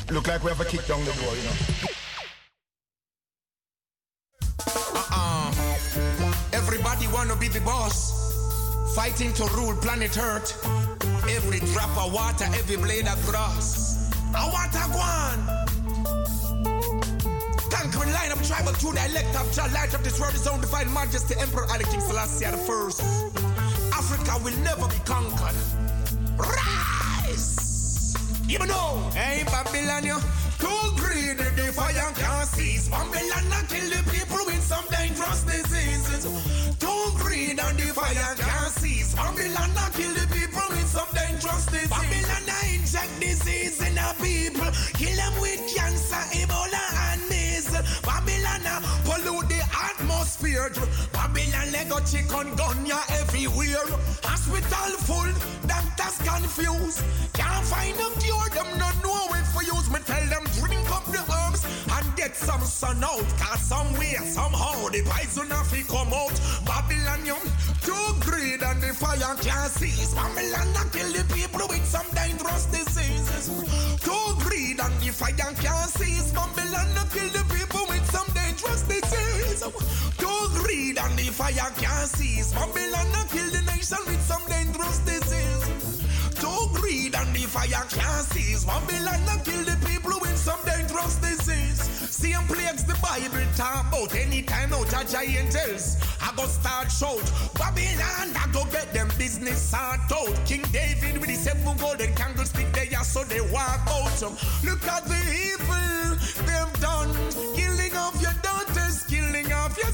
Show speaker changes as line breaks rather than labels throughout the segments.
Look like we have a kick down the door, you know.
Everybody wanna be the boss. Fighting to rule planet Earth. Every drop of water, every blade of grass. I want a guan. Conquering line of tribal true dialect of Jah, light of this world, his own divine majesty, Emperor Ali King Selassie the first. Africa will never be conquered. Rise! You know, hey Babylon, you too greedy, the fire can't cease. Babylon kill the people with some dangerous diseases. Too greedy and the fire can't cease. Babylon kill the people with some dangerous diseases. Babylon inject disease in the people. Kill them with cancer, Ebola and measles. Babylon pollute the atmosphere. Babylon lego chicken gun ya everywhere. Hospital full, doctors confused. Can't find a cure, them not know it for use. Me tell them drink up the herbs and get some sun out. Cause somewhere, somehow, the poison of it come out. Babylon, you too greed and the fire can't cease. Babylon kill the people with some dangerous diseases. Too greed and the fire can't cease. Babylon kill the people with some dangerous diseases. Too greed and the fire can't cease. Babylon kill the nation with some dangerous diseases. Too greed and the fire can't cease. Babylon kill the people with some dangerous disease. Same plagues the Bible talk about. Anytime out of giants, I go start shout. Babylon, I go get them business sort out. King David with the 7 golden candlestick there, so they walk out. Look at the evil they've done. Killing of your daughters, killing of your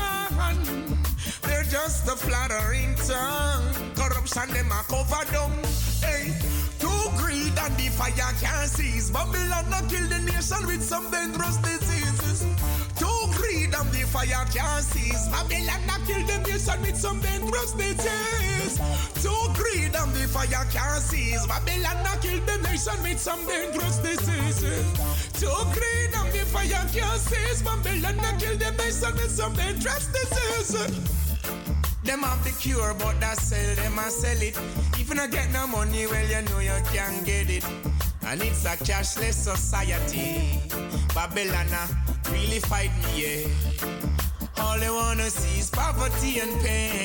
son. They're just a flattering tongue. Corruption them a cover down. Hey, too greed and the fire can't cease. Babylon kill the nation with some dangerous diseases. Too greed and the fire can't cease. Babylon kill the nation with some dangerous disease. Too greed and the fire can't cease. Babylon kill the nation with some dangerous diseases. Too greed and the fire can't cease. Babylon kill the nation with some dangerous diseases. Them have the cure, but that sell them and sell it. If you not get no money, well, you know you can't get it. And it's a cashless society. Babylon really fight me, yeah. All they wanna see is poverty and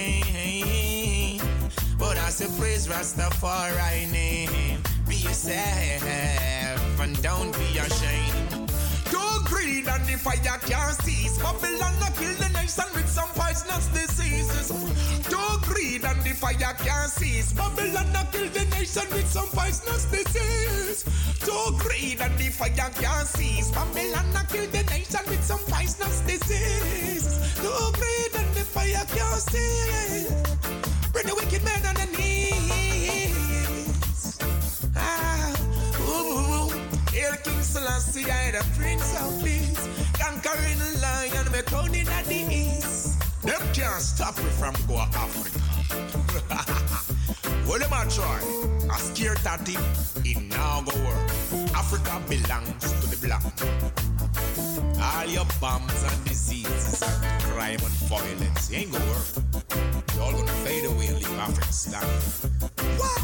pain. But I say praise Rastafari name. Be yourself and don't be ashamed. Too greed and the fire can't cease. Babylon kill the nation with some poisonous diseases. Too greed and the fire can't cease. Babylon kill the nation with some poisonous disease. Too greed and the fire can't cease. Babylon kill the nation with some poisonous disease. Too greed and the fire can't cease. Bring the wicked men on the knees. Here King Selassie, I the Prince of Peace. Conquering the lion, we're crowning at the east. Them can't stop me from go Africa. Well, them a try. I scared that him, it now go work. Africa belongs to the black. All your bombs and diseases and crime and violence ain't gonna work. You're all gonna fade away and leave Africa standing. What?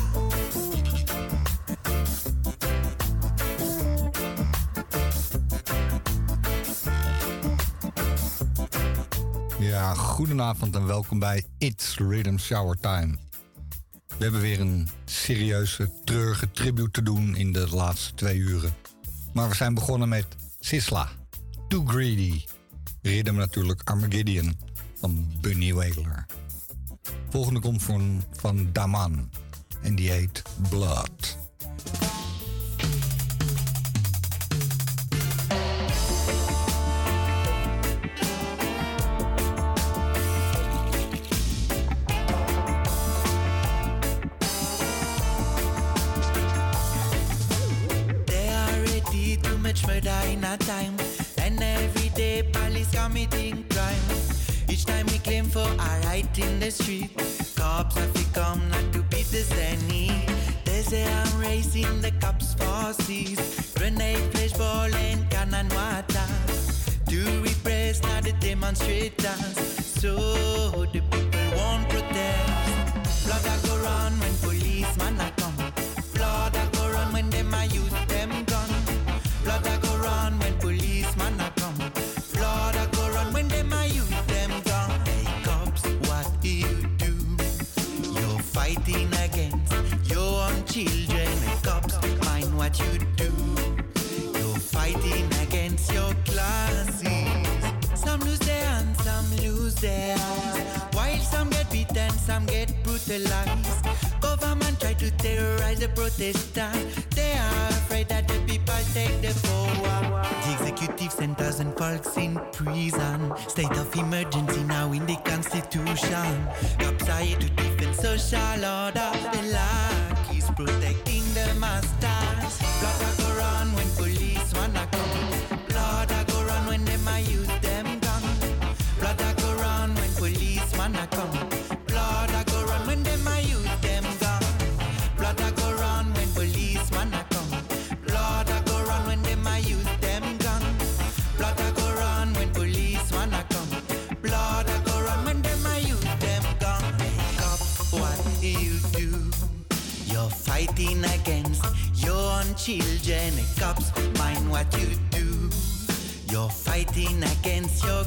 Ja, goedenavond en welkom bij It's Rhythm Shower Time. We hebben weer een serieuze, treurige tribute te doen in de laatste 2 uren. Maar we zijn begonnen met Sisla, Too Greedy. Rhythm natuurlijk Armageddon van Bunny Wailer. Volgende komt van Daman en die heet Blood.
Murder in a time, and every day police committing crime. Each time we claim for our right in the street, cops have to come not to beat us any. They say I'm racing the cops for seas, grenade, flashball and cannon water to repress now the demonstrators, so the people won't protest. Blood that go run when policemen are come, blood that go run when them a use them gun. brutalized. Government try to terrorize the protestants. They are afraid that the people take the power. The executive sent 1,000 folks in prison. State of emergency now in the constitution. Cops are here to defend social order. The law is protecting the masters. Blood a go run when police wanna come. Blood a go run when them a use them gun. Blood a go run when police wanna come. Blood a go run when them a use them gun. Blood a go run when police wanna come. Blood a go run when them a use them gun. Blood a go run when police wanna come. Blood a go run when them a use them gun. Cop, what do you do? You're fighting against your own children. Cops, mind what you do. You're fighting against your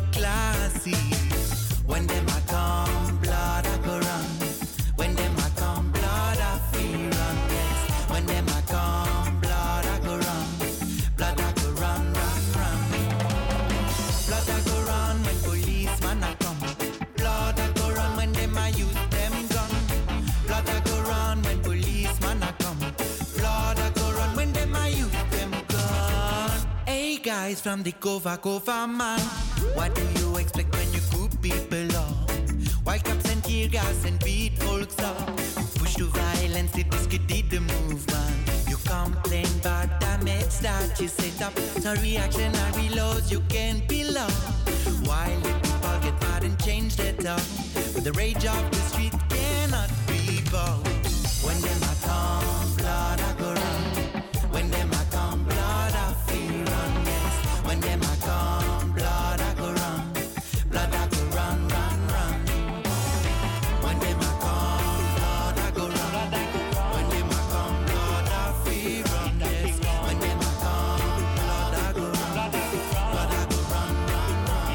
classes. When them a come, blood a go run. When them a come, blood a free run. Yes. When them a come, blood a go run. Blood a go run, run, run. Blood a go run when policeman a come. Blood a go run when them a use them gun. Blood a go run when policeman a come. Blood a go run when them a use them gun. Hey guys from the Kova man, what do you expect when you coup people up? While cops and tear gas and beat folks up. You push to violence to discredit the movement. You complain about damage that you set up. So reactionary laws you can't be loved. While the people get mad and change their talk, but the rage of the street cannot be bought. When them a come, blood a go run. When them a come, blood a free run. Yes. When them a come, blood a go run. Blood a go run, run, run. When them a come, blood a go run. When them a come, blood a free run. Yes. When them a come, blood a go run. Blood a go run, run, run.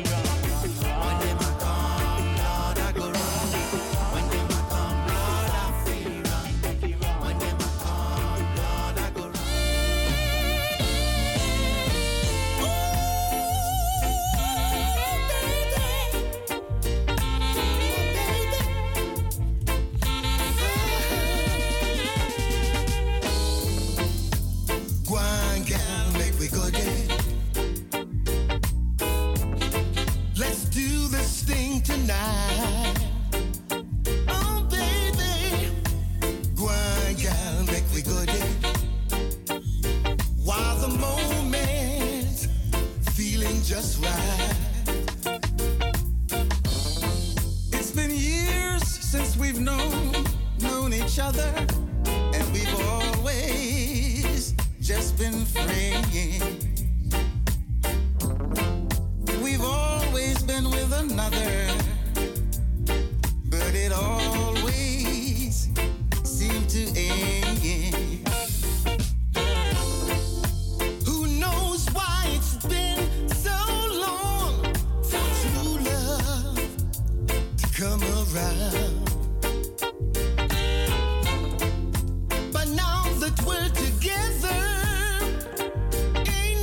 When them a come, blood a go run. When them a come, blood a free run. When them a come, blood a go run.
Go on, girl, make we go there. Let's do this thing tonight. Oh, baby. Go on, girl, make we go there. While the moment feeling just right. It's been years since we've known each other, and we've always just been friends. We've always been with another, but it always seemed to end. Who knows why it's been so long for true love to come around? But now that we're together, ain't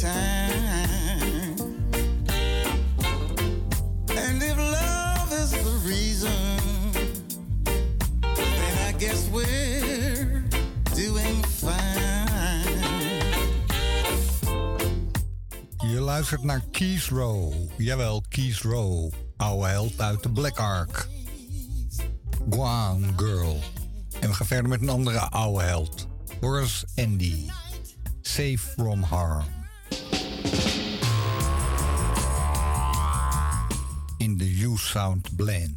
time. And if love is the reason, then I guess we're doing fine.
Je luistert naar Keith Rowe. Jawel, Keith Rowe. Oude held uit de Black Ark. Gone Girl. En we gaan verder met een andere oude held. Horace Andy. Safe from Harm. In de U-Sound blend.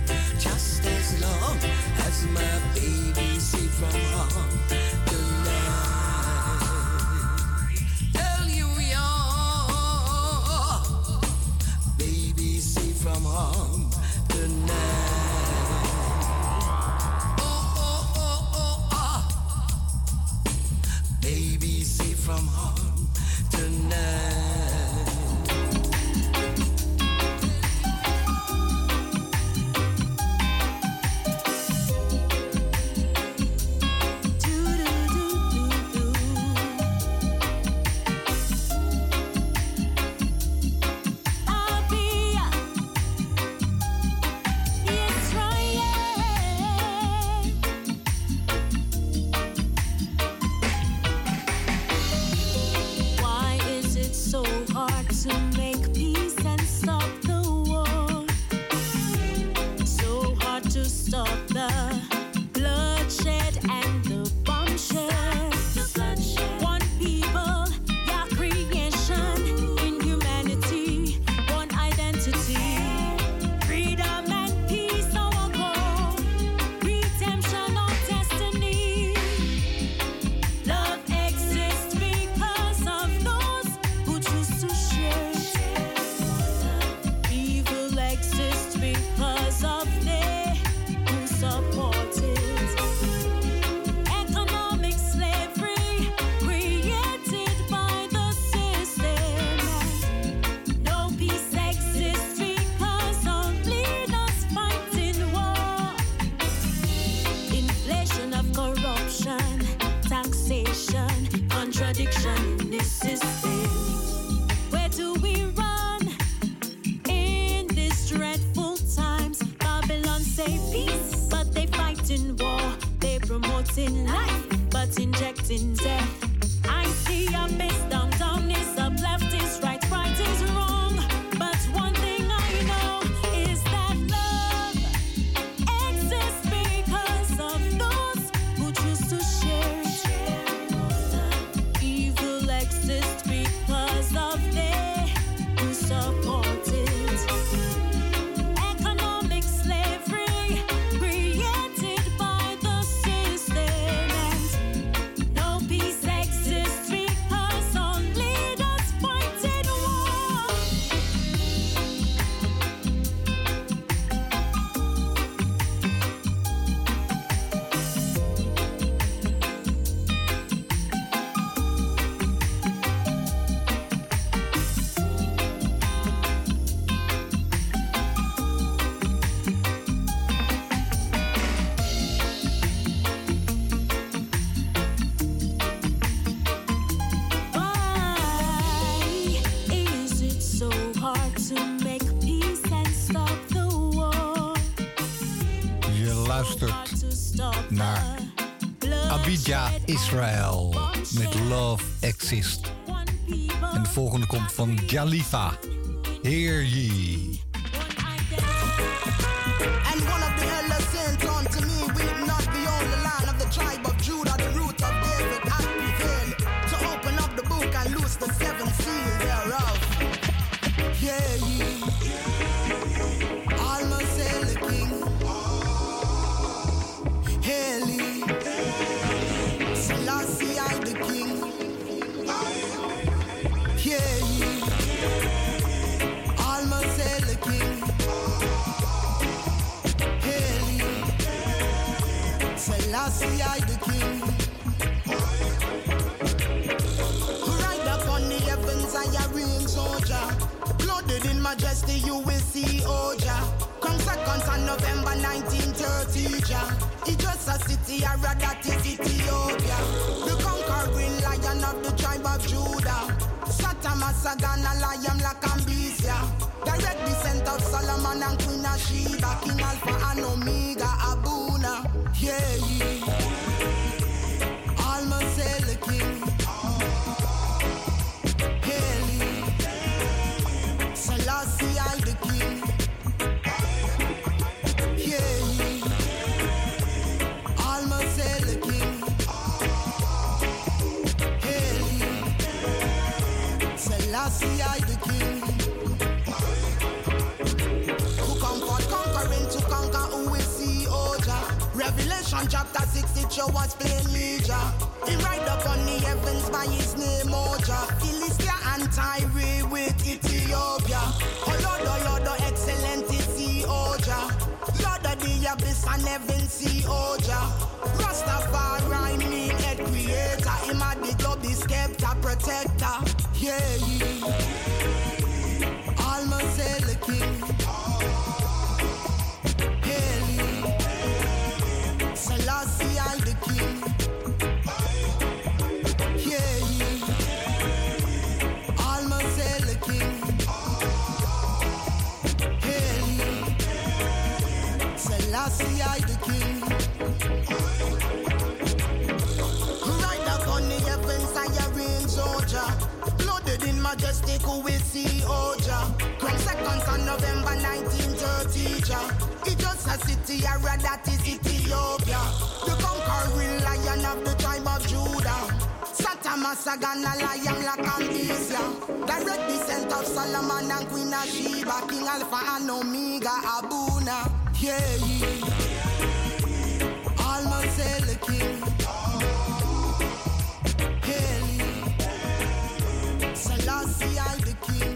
As my baby safe from harm tonight.
hard to make peace and stop the war. So hard to stop the bloodshed and the bombshed. One people, your creation in humanity, one identity. Freedom and peace, our goal. Redemption, our destiny. Love exists because of those who choose to share. Evil exists because of they who support it. Economic slavery created by the system. No peace exists because of leaders fighting war. Inflation of corruption, taxation, contradiction in this system. Where do we run in these dreadful times? Babylon say peace, but they fight in war. They promoting life, but injecting death. I see a best down is up, left is right, right is wrong. But one thing I know is that love exists because of those who choose to share. Evil exists because of they who support it. Economic slavery created by the system. And no peace exists because of leaders fighting war. Why is it so hard to make peace and stop the war?
Je luistert
Hard to stop
naar Abidja, Israël met Love Exists. En de volgende komt van Jalifa. Hear ye.
And one of the elders saints unto me, will it not be on the land of the tribe of Judah, the root of David, hath prevailed to open up the book and loose the seven seals thereof. Hear ye, almost hail the King. Hail ye, Selassie I the King. Hear ye, almost hail the King. Hail ye, Selassie I the King. Who ride upon the heavens I a reign soldier. Blooded in majesty you will see Oja. Come 2nd of November 1930 Jah. It's just a city I read that is Ethiopia. The conquering lion of the tribe of Judah. Satama Sagana Lion Lakambisia. Direct descent of Solomon and Queen of Sheba. King Alpha and Omega Abuna. Yeah, ye. Almost hail the King. Hail ye. Selassie I the King. Yeah, ye. Almost hail the King. Hail ye. Selassie I the King. Who comfort conquering to conquer who will see Oja. Revelation chapter 6 it show us plainly Jah. He ride upon the heavens by his name Oja. Philistia and Tyre with Ethiopia. Oh Lord, excellent is see Oja. Lord of the abyss and heaven see Oja. Rastafari mean head creator. Him a the globe the scepter protector. Yeah, ye. Almost hail the King. Hail ye. Selassie I the King. Yeah, ye. Almost hail the King. Hail ye. Selassie I the King. Ride upon the heavens and your reign soldier. Blooded in majesty take away see Oja. Come 2nd of November 1930, ja. It's just a city area that is Ethiopia. The conquering lion of the tribe of Judah. Satamasagan, a lion like Amnesia. Direct descent of Solomon and Queen of Sheba. King Alpha and Omega, Abuna. Yeah, yeah. Almost the king. Hail. Selassie, I the king.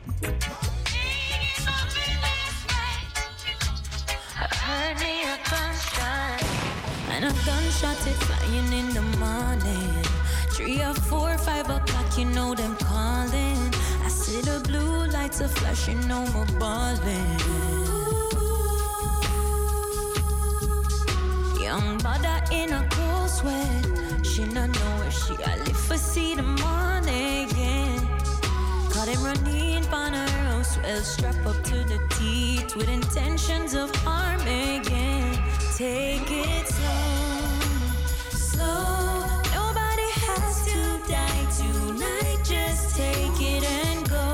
Heard me a gunshot, and a gunshot is flying in the morning. 3 or 4, 5 o'clock, you know them calling. I see the blue lights are flashing, no more balling. Young mother in a cold sweat, she not know where she a live for see the morning. Yeah. Caught him running on her house, well strapped up to the teeth with intentions of harming. Yeah. Take it slow. Nobody has to die tonight. Just take it and go.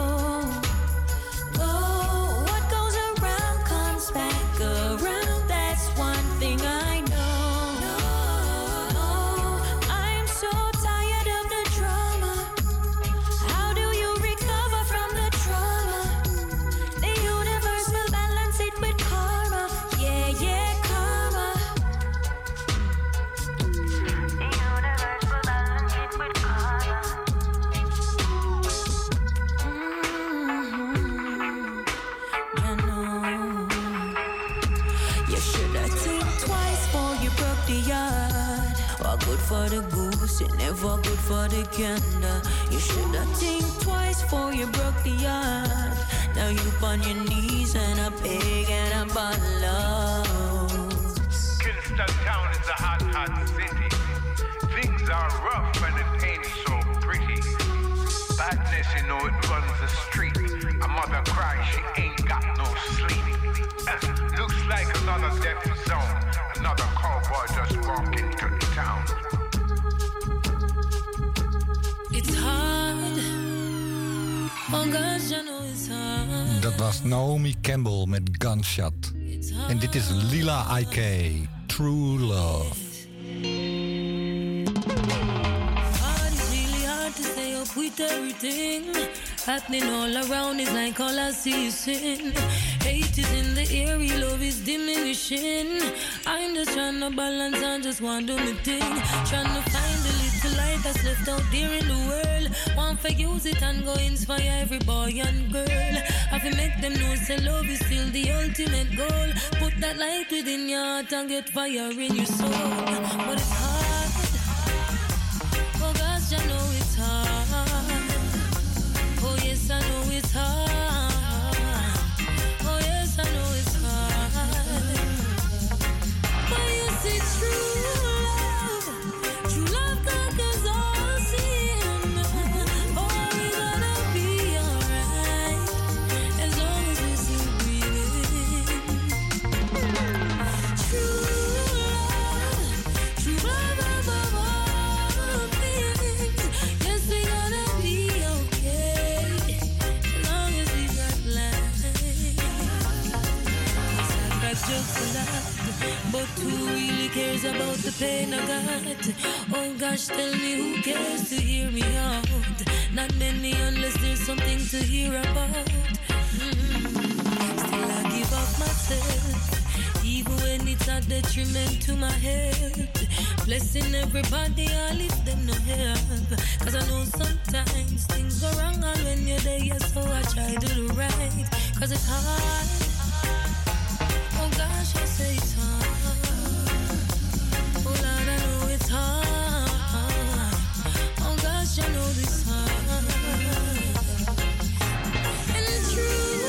What goes around comes back around. That's one thing I know. I'm so tired of the drama. How do you recover from the trauma? The universe will balance it with karma. Yeah, karma. The universe will balance it with karma. You know, you should have think twice before you broke the yard. What good for the goose, it never good for the gander. You should have think twice before you broke the yard. Now you on your knees and a pig and a bottle of.
Kingston Town is a hot, hot city. Things are rough and it ain't so pretty. Badness, you know, it runs the street. A mother cries, she ain't got no sleep. Looks like another death zone. Another cowboy just walked into town.
It's hard. Oh gosh, I know it's hard.
Dat was Naomi Campbell met Gunshot. En dit is Lila IK, True Love.
Hard, it's really hard to stay up with everything happening all around. It's like all I see is sin. Hate is in the air, love is diminishing. I'm just trying to balance and just want to do my thing. Trying to find the little light that's left out there in the world. Want to use it and go inspire every boy and girl. Have to make them know say love is still the ultimate goal. Put that light within your heart and get fire in your soul. But it's hard. Oh gosh, I know it's hard. Oh yes, I know it's hard. Oh yes, I know it's hard. But you see true love conquers all sin. Oh, we gonna be alright as long as we still breathing. True love above all things. Yes, we gonna be okay as long as we got life. I jokes a lot, but who really cares about the pain I got? Oh gosh, tell me who cares to hear me out? Not many unless there's something to hear about. Still I give up myself, even when it's a detriment to my health. Blessing everybody, I lift them no help. Cause I know sometimes things go wrong, and when you're there, so I try to do right. Cause it's hard. Oh gosh, I say it's hard. Oh Lord, I know it's hard. Oh gosh, I know this hard. And it's true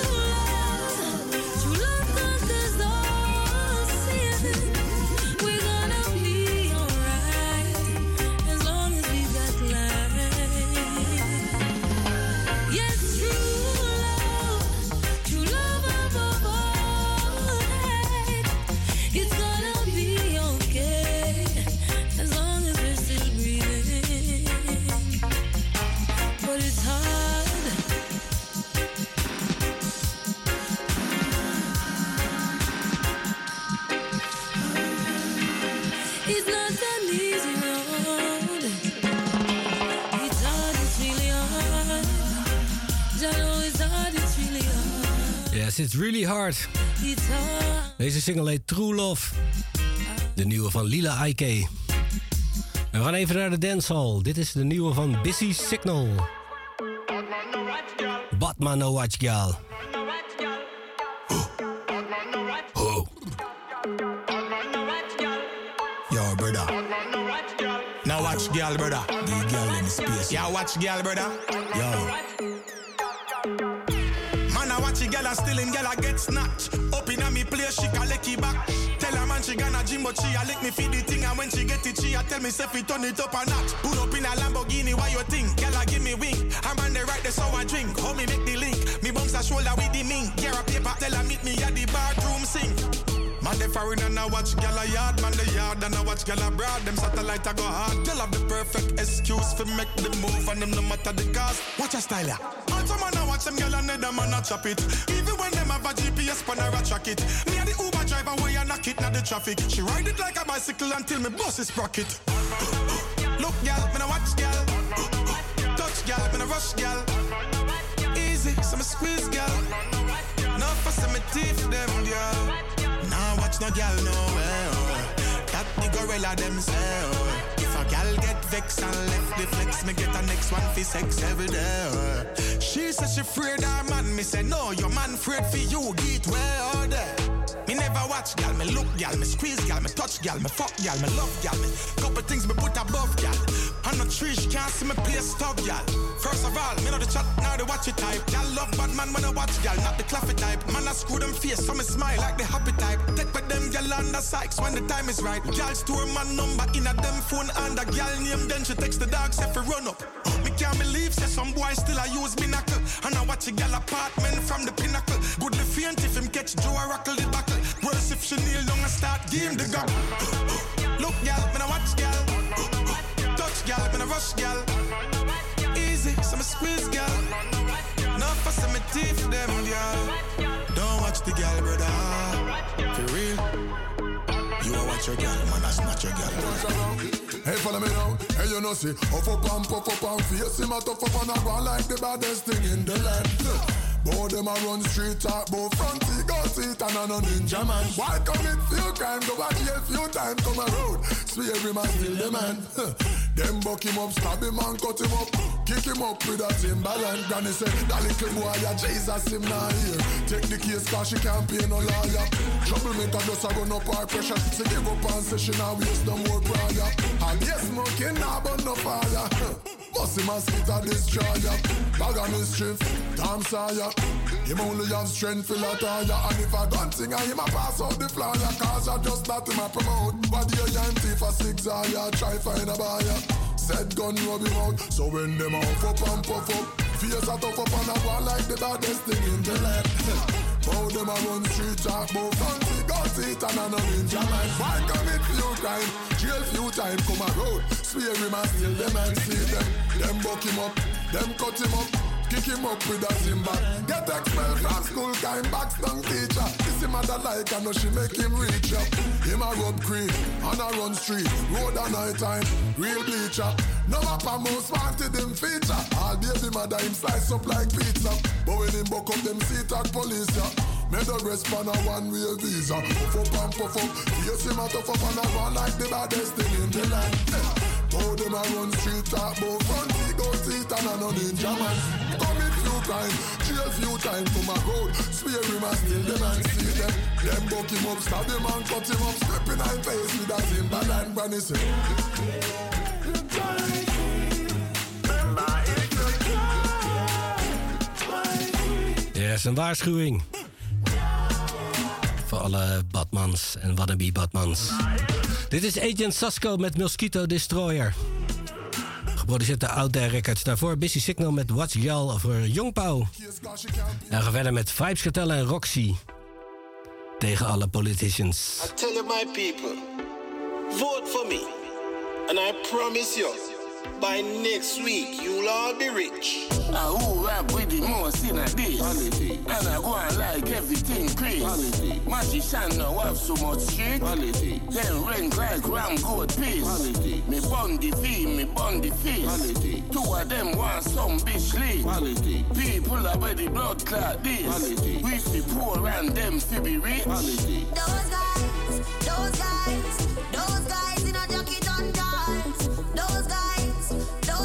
love conquers all sin. We're gonna be alright as long as we got life. Yes, true love above all.
Yes, it's really hard. Deze single heet True Love. De nieuwe van Lila Ike. We gaan even naar de dancehall. Dit is de nieuwe van Busy Signal. Batman no watch girl.
Yo, brother. Now watch girl, brother. The girl in the space. Yeah, watch girl, brother. Yo. Man, I watch a girl and still in girl I get snatched. Up in a me place, she can lick it back. Tell her man she gonna gym, but she a lick me feed the thing. And when she get it, she a tell me self it turn it up a notch. Pull up in a Lamborghini, why you think? Girl I give me wing. I'm on the right, that's how I drink. How me make the link? Me bounce a shoulder with the mink. Gear a paper, tell her meet me at the bathroom sink. Man, they foreign and I watch gal a yard. Man, the yard and I watch gal abroad. Them satellite I go hard. Gal have the perfect excuse for make the move. And them no matter the cost. Watch a style ya. Also man, I watch them gal and them man a chop it. Even when them have a GPS pan a track it. Me and the Uber driver way I knock it na the traffic. She ride it like a bicycle until me bus is sprocket. Look gal, me no watch gal. Touch gal, me no rush gal. Easy, so me squeeze gal. No fuss me teeth them gal. Nah, watch no gal nowhere. That the gorilla themselves. If a gal get vexed and left the flex, me get a next one for sex every day. She says she afraid her man. Me say no, your man afraid for you. Get well there. Me never watch gal, me look gal, me squeeze gal, me touch gal, me fuck gal, me love gal, me couple things me put above gal. On the tree, she can't see me play stop gal. First of all, me know the chat, now the watch it type. Gal love bad man when I watch gal, not the claffy type. Man I screw them face, so me smile like the happy type. Take with them gal on the sykes when the time is right. Gal store man number in a them phone and a gal name, then she text the dog, say for run up. Me can't believe, say some boy still I use binocle. And I watch a gal apartment from the pinnacle. Goodly faint if him catch Joe a rockle the buckle. Worse if she kneel down and start game the gum. Look gal, me no watch gal. Touch gal, me no rush gal. Easy, so me squeeze gal. No fuss me teeth them gal. Don't watch the gal, brother. For real. You a watch your gal, man, that's not your gal.
Hey, follow me now. Hey, you know, see, puff up and face him a tough up and I run like the baddest thing in the land. Both them a run street talk, both front seat, go seat and a no ninja man. Why commit few crime, go back here few time, come a road. Swear him and kill the man. Them buck him up, stab him and cut him up. Kick him up with a Timberland. Granny say, that little boy, yeah, Jesus, him not here. Take the case cause she can't pay no lawyer. Troublemaker just a run up our pressure. She give up and say she now waste no more prayer. And yes, smoking now but no fire. Bust him and spit a destroyer. Bag on his strength, damn sire. Him only have strength for a tire. And if I don't sing, him a pass out the flyer. Cause I just not him a promote. But the empty for 6 hours, try find a buyer. Said gun rub him out. So when them off up and puff up, face a tough up and a one like the baddest thing in the land. Bow them a run street talk, bow fancy, go seat and a no ninja man. Why commit few crime, jail few time, come a road. Swear him and steal them and see them. Them buck him up, them cut him up. Kick him up with a Zimba. Get expelled from school, kind back stung teacher. This him mother like, I know she make him reach up. Him a rub cream, and a run street. Road at night time, real bleacher. No mapper most wanted him feature. All baby mother him slice up like pizza. But when him buck up them seat at police, yeah. Made a respond a one-way visa. Puff up and puff up. Yes, him a tough up and a run like the baddest thing in the land. How them a run street talk, both front seat, go seat and a no ninja man. Commit few crime, jail few time, come a road. Swear him and steal them and see them. Them buck him up, stab him and cut him up. Step in his face with a Timberland granny say.
Yes, een waarschuwing. Voor alle Batmans en wannabe Batmans. Dit is Agent Sasco met Mosquito Destroyer. Geproduceerd door Out There Records. Daarvoor Busy Signal met Watch Gal voor Young Pau. En we gaan verder met Vibes Cartel en Roxy. Tegen alle politicians.
I tell you my people, vote for me. And I promise you, By next week, you'll all be rich.
I who rap with the most in a this. Quality. And I go and like everything crazy. Quality. Magician now have so much shit. Quality. Then rank like ram goat piece. Quality. Me bun the fee, me bun the face. Quality. Two of them want some bitch lead. Quality. People are by the blood clot this. Quality. We fi poor and them fi be rich. Quality.
Those guys in a jacket on dance. Those guys,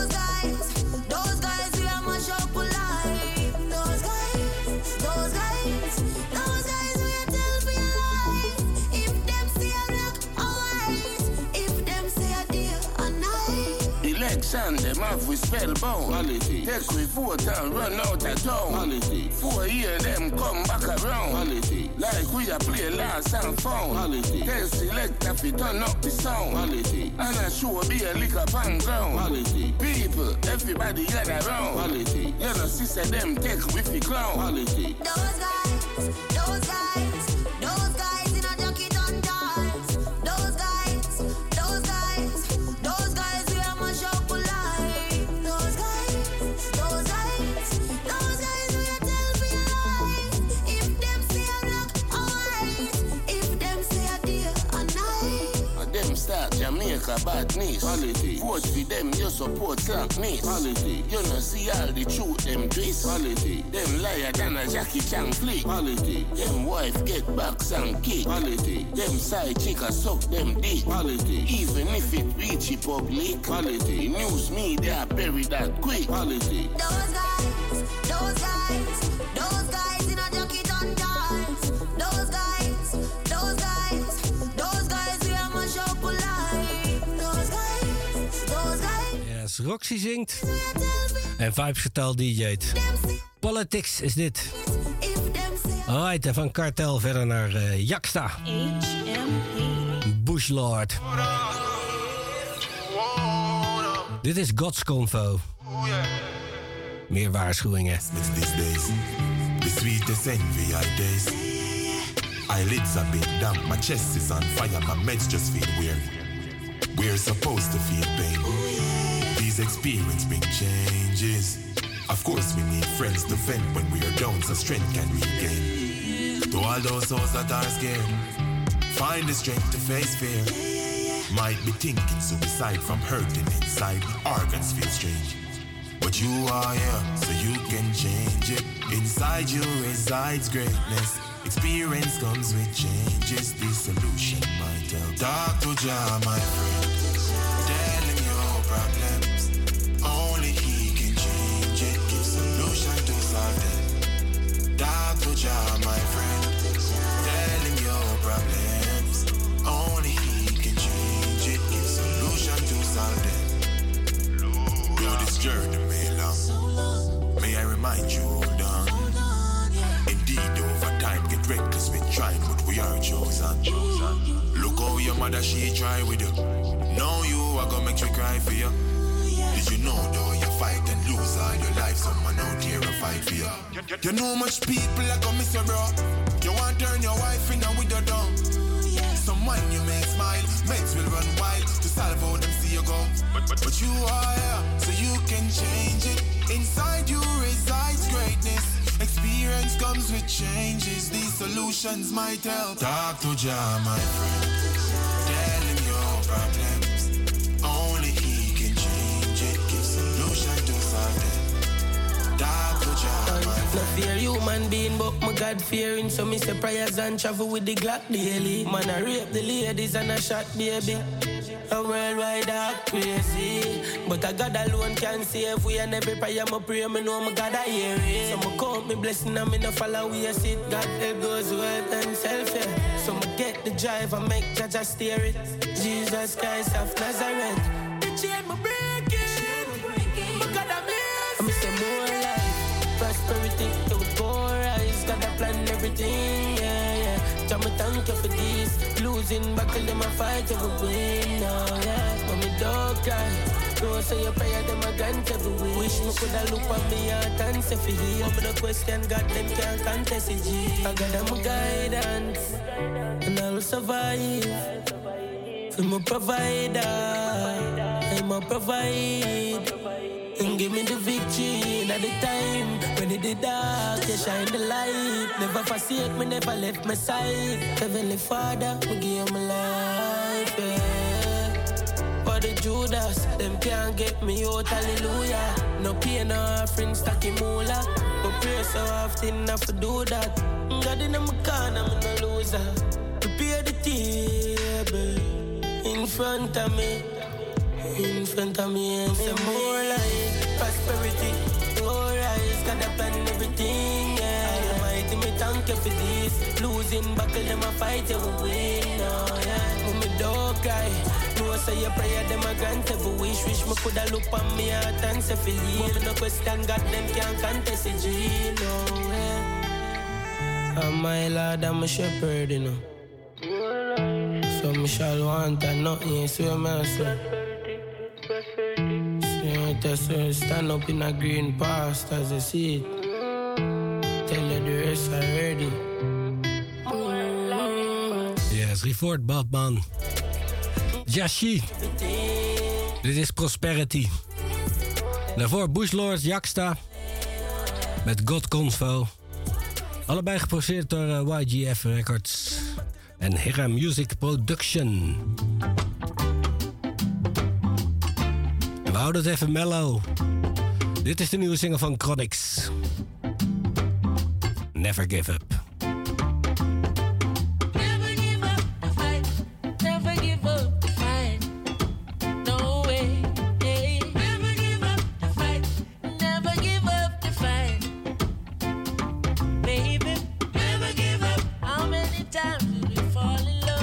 we are mash up alive. Those guys, we are tell for your life. If them say a black or white, if them say a day or night.
Election, them have we spellbound. Quality. Take we vote and run out of town. Quality. 4 years, them come back around. Quality. Like we a play last and found. Quality. Tell selector fi turn up the sound. Quality. And I sure be a lick up on ground. Quality. People, everybody gather round. Quality. You know, sister them take with the clown. Quality.
Those guys in a jacket on dance. Those guys, we are mash up alive. Those guys, we are tell for your life. If them say a black or white, if them say a day or night.
And them start Jamaica badness. Quality. Vote for them, you support slackness. Quality. You know see all the truth them twist. Quality. Them liar than a Jackie Chan flick. Quality. Them wife get backs and kick. Quality. Them side chick a suck them dick. Quality. Even if it reach the public. Quality. News media bury that quick. Quality.
Those guys in a jacket on dance. Those guys, we are mash up alive. Those guys.
Yes, Roxy zingt. En Vibes Getal DJ't. Politics is dit. Alright, en van Kartel verder naar Jaksta. Bushlord. Dit is God's Convo. Meer waarschuwingen.
These days, the sweetest envy I days. Eyelids a bit damp, my chest is on fire, my meds just feel weird. We're supposed to feel pain. These experiences bring changes. Of course we need friends to vent when we are down so strength can regain. To all those souls that are scared, find the strength to face fear. Might be thinking suicide from hurting inside, organs feel strange. But you are here, so you can change it. Inside you resides greatness. Experience comes with changes. The solution might help. Talk to Jah, my friend. Tell him your problems. Only he can change it. Give solution to solve them. Talk to Jah, my friend. Tell him your problems. Only he can change it. Give solution to solve them. Yo, this journey may long. May I remind you, hold on. Indeed, over time, get reckless with trying, but we are chosen. Look how your mother, she try with you. Know you are gonna make you cry for you. Did you know, though, you fight and lose all your life, someone out here will fight for you. You know much people are gonna miss you, bro. You want to turn your wife in and with your dog. Someone you may smile, mates will run wild to solve how them see you go. But you are here, so you can change it. Inside you resides greatness. Experience comes with changes. These solutions might help. Talk to Jah, my friend. Tell him your problems. Only he can change it. Give solution to solve them. Talk to Jah, my friend.
No fear human being, but my God fearing. So me say prayers and travel with the Glock daily. Man, I rape the ladies and I shot baby. A worldwide act crazy, but a God alone can save we. And every prayer I pray, me know my God I hear it. So me count me blessing and me no follow we sit. God it goes well and self-care. So me get the drive and make Jaja steer it. Jesus Christ of Nazareth. The chain me breaking, my God I'm blessed. Me say more life, prosperity, it will go rise. God I plan everything, yeah, yeah. Jah me thank you for this. Losing battle, them a fight, you will win, oh yeah. But me don't cry. Don't say your prayer, them a grant every week. Wish me coulda look at me heart and say for heal. But the question, God, them can't contest it, G. I got them guidance, and I will survive. For my provider, I'ma provide. And give me the victory at the time. When it did dark, you shine the light. Never forsake me, never left my side. Heavenly Father, we give my life, yeah. For the Judas, them can't get me out, hallelujah. No pain, no offering, stacky moolah. But pray so often, I have to do that. God in my corner, I'm no loser. Prepare the table in front of me. In front of me, and some more life, prosperity. More eyes, got a plan and everything, yeah. Almighty, me thank you for this. Losing battle, them a fight, you will win, oh, yeah. Mummy, don't cry. No, say your prayer, them a grant every wish. Wish me coulda look on me heart and say feel it. But no question, God, them can't contest the dream, oh, yeah. I'm my Lord, I'm a shepherd, you know. So me shall want and nothing, so me say. Stand up in a green past as I see it. Tell you the rest already.
Yes, Refort Batman. Jashi. Dit is Prosperity. Daarvoor Bushlord Jaksta. Met God Convo. Allebei geproduceerd door YGF Records. En Hera Music Production. We houden het even mellow. Dit is de nieuwe single van Chronix. Never Give Up.
Never give up the fight. Never give up the fight. No way. Hey. Never give up the fight. Never give up the fight. Baby, never give up. How many times did we fall in love?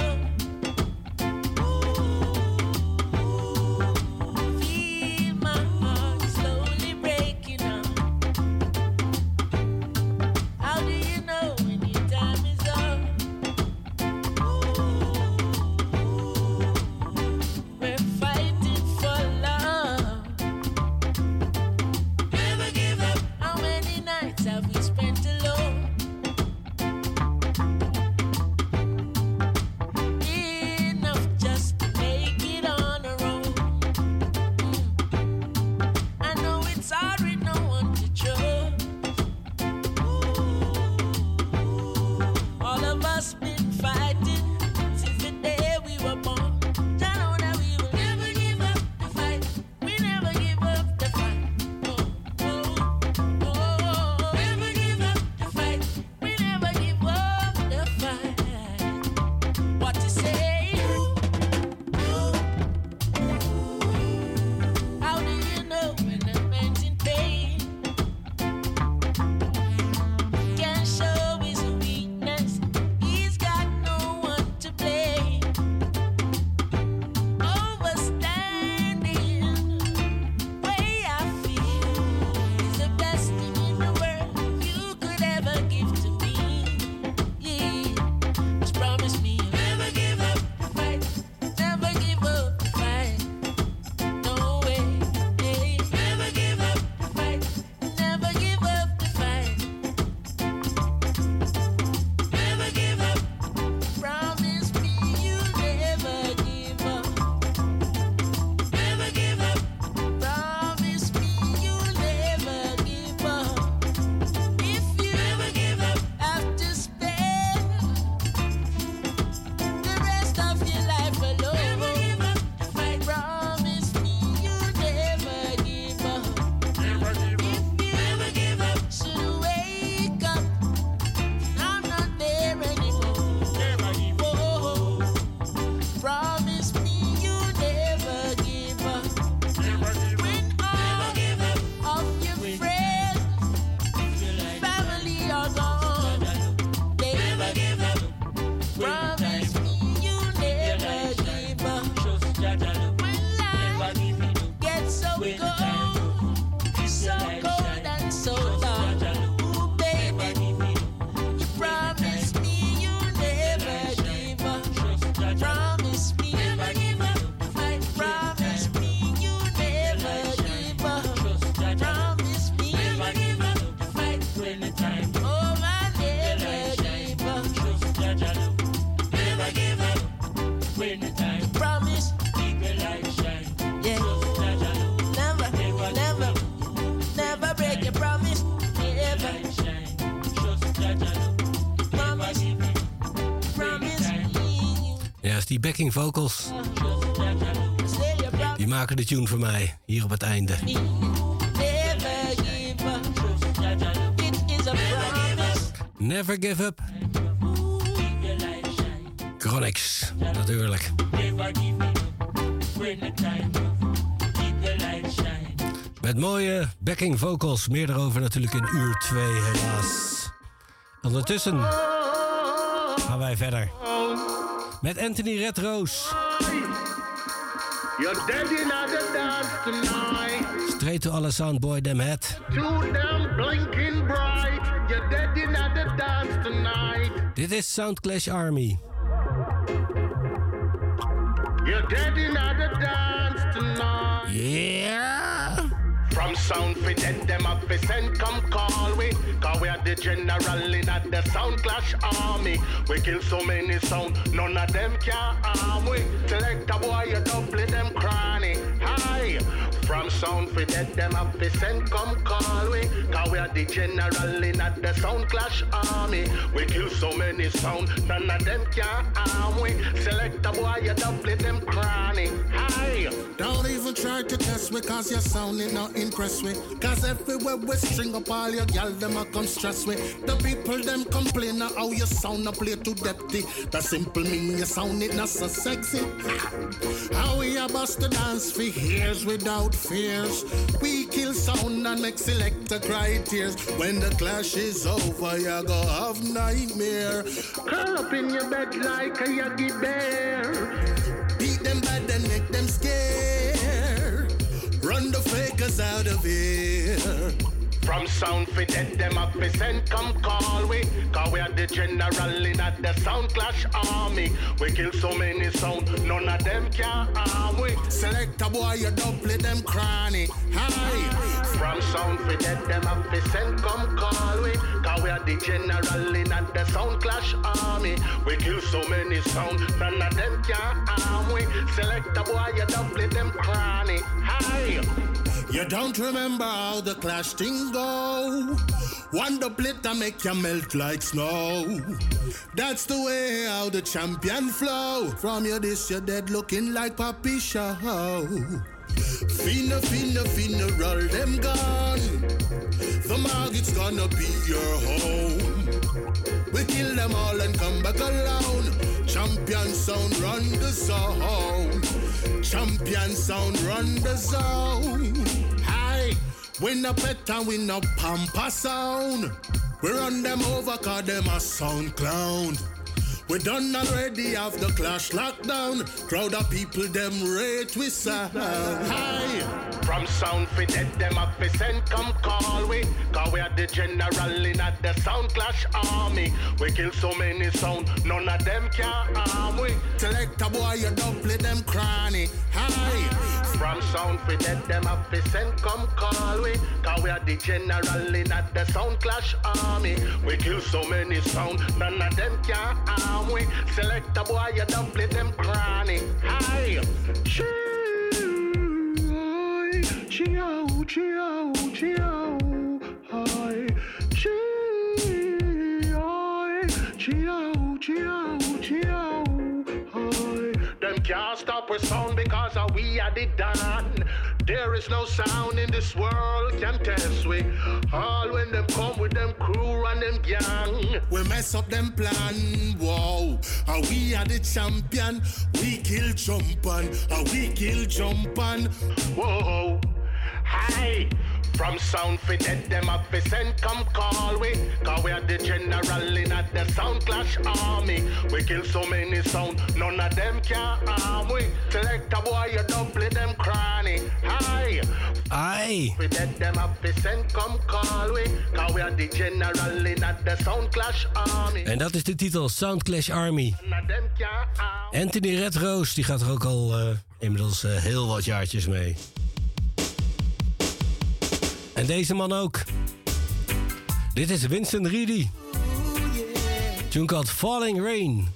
Promise, keep your light shine. Yeah.
geweldig. Die backing vocals. Die maken de tune voor mij. Hier op het einde. Never give up. Chronix, natuurlijk. Met mooie backing vocals. Meer daarover natuurlijk in uur 2 helaas. Ondertussen gaan wij verder. Met Anthony Redrose.
You're dead in the dance tonight.
Straight to alle soundboy them head.
To them blinking bright. You're dead in the dance tonight.
Dit is Soundclash Army.
You're dead in the dance tonight.
Yeah.
From sound fit dead them up fi send come call we. Cause we are the general in at the Soundclash Army. We kill so many sound, none of them can harm we. Select a boy, you double them cranny. Hi. From sound fit dead them up fi send come call we. Cause we are the general in at the Soundclash Army. We kill so many sound, none of them can harm we. Select a boy, you double them cranny. Hi.
Don't even try to test me cause your sound is not impress me. Cause everywhere we string up all your gal them a come stress me. The people them complain of how your sound a play too depthy. That simple mean your sound it not so sexy. How we a bust the dance for years without fears. We kill sound and make selector cry tears. When the clash is over you go have nightmare.
Curl up in your bed like a yogi bear.
Beat them bad and make them scared. Run the fakers out of here.
From sound fit dead them up fi send come call we. Cause we are the general in at the Soundclash Army. We kill so many sound, none of them can harm we.
Select a boy, you double them cranny. Hi.
From sound fit dead them up fi send come call we. Cause we are the general in at the Soundclash Army. We kill so many sound, none of them can harm we. Select a boy, you double them cranny. Hi.
You don't remember how the clash thing go? One duplet and make you melt like snow. That's the way how the champion flow. From your this, you're dead looking like Papi Show. Finna, finna, finna, roll them gun. The market's gonna be your home. We kill them all and come back alone. Champion sound run the zone. Champion sound run the zone. Hi, we no pet and we no pamper sound. We run them over cause them a sound clown. We done already have the clash lockdown. Crowd of people them rate we sound. Hi.
From sound fit dead them up fi send come call we. Cause we are the general in at the Soundclash Army. We kill so many sound, none of them can harm we.
Select a boy, you double them cranny. Hi.
From sound fit dead them up fi send come call we. Cause we are the general in at the Soundclash Army. We kill so many sound, none of them can harm we. Select a boy, you double them cranny. Hi. Chiao, chiao, chiao, hi, chiao, chiao, chiao, hi. Them can't stop our sound because we are the done. There is no sound in this world can test we. All when them come with them crew and them gang.
We mess up them plan, wow. We are the champion. We kill jumpan, we kill jumpan.
Whoa. Hi. From sound fit dead them up fi send come call we. Cause we are the general in at the Soundclash Army. We kill so many sound, none of them can harm we. Select a boy, you double them cranny. Hi.
Aye.
We dead them up fi send come call we. Cause we are the general in at the Soundclash Army.
En dat is de titel, Soundclash Army. Anthony Redrose, die gaat er ook al inmiddels heel wat jaartjes mee. En deze man ook. Dit is Winston Reedy. Tune called Falling Rain.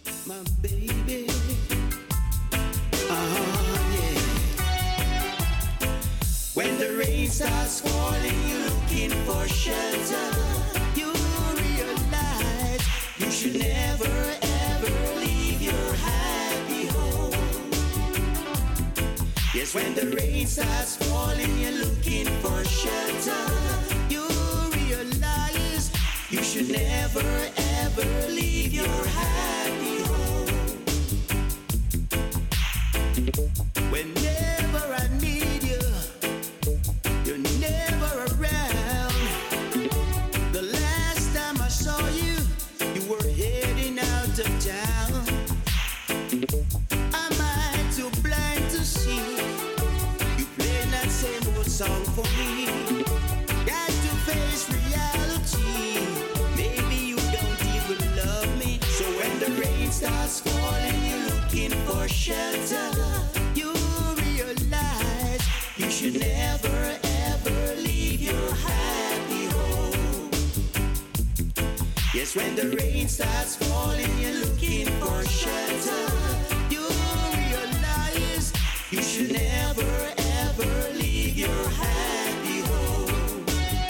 When the rain starts falling, you're looking for shelter. You realize you should never ever leave your happy home. Yes, when the rain starts falling, you're looking for shelter. You realize you should never ever leave your happy home. Whenever I need you, you're never around. The last time I saw you, you were heading out of town. Am I too blind to see? You play that same old song for me. Got to face reality. Maybe you don't even love me. So when the rain starts falling, you're looking for shelter. You realize you should never ever leave your happy home. Yes, when the rain starts falling, you're looking for shelter. You realize you should never ever leave your happy home.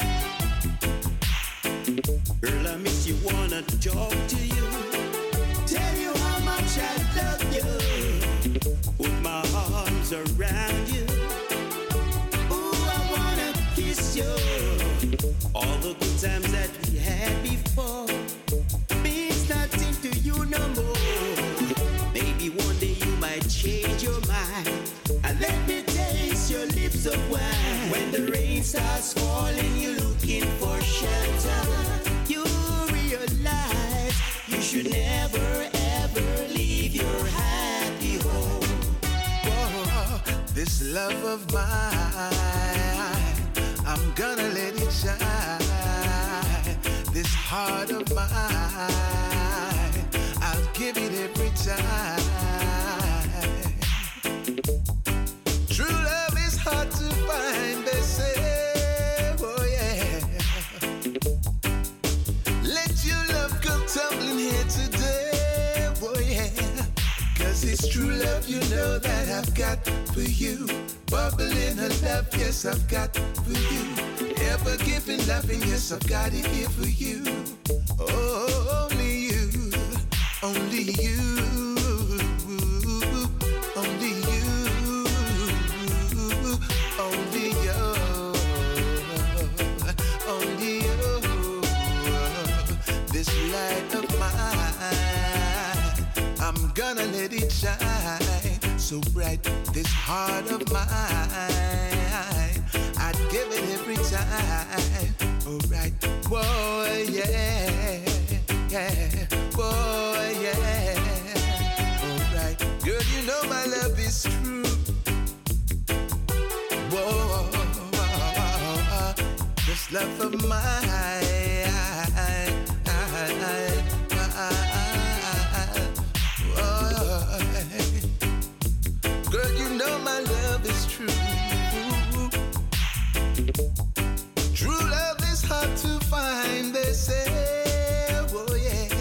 Girl, I miss you, wanna talk to you. Tell you how much I love you. Put my arms around you. Ooh, I wanna kiss you. All the good times that we had before means nothing to you no more. Maybe one day you might change your mind and let me taste your lips of wine. When the rain starts falling, you're looking for shelter. You realize you should never ever leave your happy home.
Whoa, this love of mine, I'm gonna let it shine. This heart of mine, I'll give it every time. True love is hard to find, they say, oh yeah. Let your love come tumbling here today, oh yeah. Cause it's true love, you know that I've got for you. Bubbling a love, yes, I've got for you. Ever giving loving, yes, I've got it here for you. Oh, only you, only you, only you, only you, only you. This light of mine, I'm gonna let it shine so bright. This heart of mine, I'd give it every time. Alright, boy, yeah, yeah, boy, yeah. Alright, girl, you know my love is true. Whoa, this love of mine. Girl, you know my love is true. True love is hard to find, they say, oh yeah.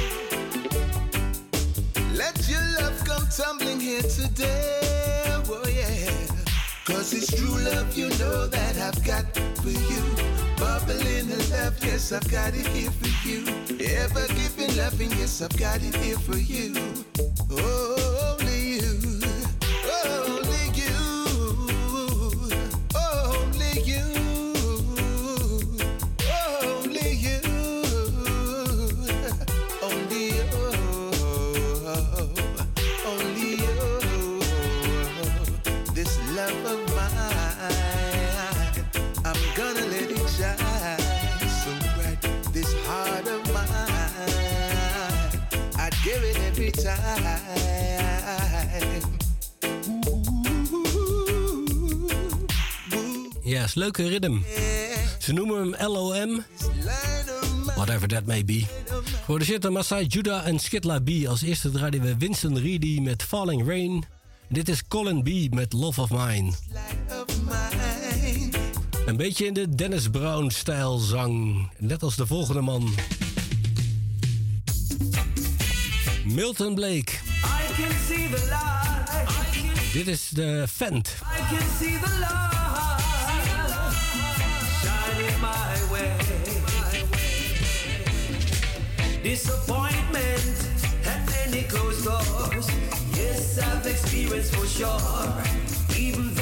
Let your love come tumbling here today, oh yeah. Cause it's true love, you know that I've got for you. Bubbling in love, yes, I've got it here for you. Ever giving loving, yes, I've got it here for you. Oh, only you. Only you, only you, only you, only you, only you. This love of mine, I'm gonna let it shine so bright. This heart of mine, I'd give it every time.
Ja, is leuke rhythm. Ze noemen hem LOM. Whatever that may be. Geproduceerd door Masai Judah en Skitla B. Als eerste draaiden we Winston Reedy met Falling Rain. Dit is Colin B. met Love of Mine. Een beetje in de Dennis Brown-stijl zang. Net als de volgende man. Milton Blake.
I can see the light.
Dit is de Fent.
I can see the light shining my way. Disappointment and many closed doors. Yes, I've experienced for sure. Even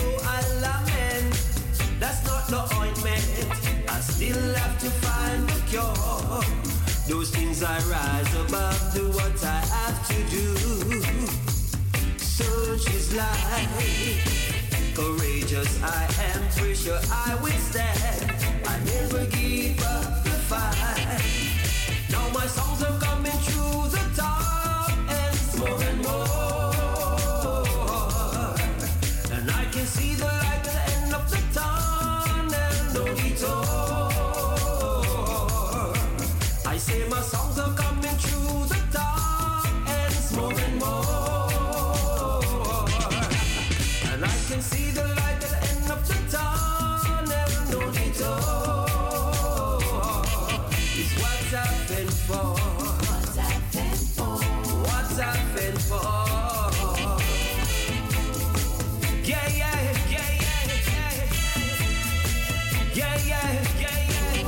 got no ointment. I still have to find the cure. Those things I rise above, do what I have to do. Search is life. Courageous I am, pressure I withstand. I never give up the fight. Now my songs are coming through the top, and it's more and more. And I can see the light at the end of the tunnel, no detour. I say my songs are coming through the top, and it's more and more. And I can see the light at the end of the tunnel, no detour. It's what's happened for. What's happened for? What's happened for? Yeah, yeah, yeah, yeah, yeah. Yeah, yeah, yeah, yeah.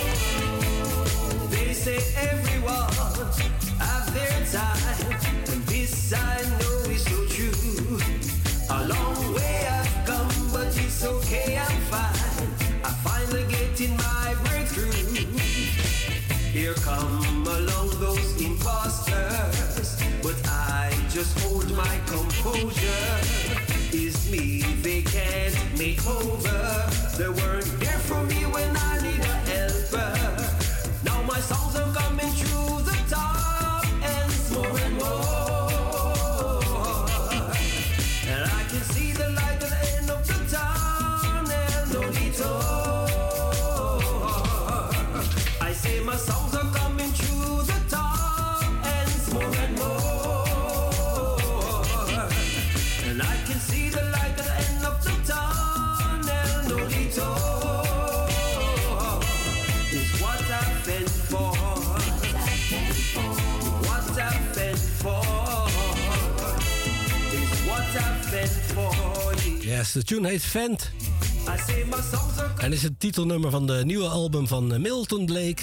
They say everyone have their time, and this I know is so true. A long way I've come, but it's okay, I'm fine. I finally getting my breakthrough. Here come along those imposters, but I just hold my composure. It's me they can't make over. They weren't there for me when I need a helper. Now my songs are coming through the top, and it's more and more. And I can see the light at the end of the tunnel, no detour. I say my songs are coming through the top, and it's more and more. And I can see the light at the end of the tunnel, no detour. It's what I've been for. What I've been for. It's what I've been for.
Yes, de tune heet Vent.
I say my songs are
En is het titelnummer van de nieuwe album van Milton Blake.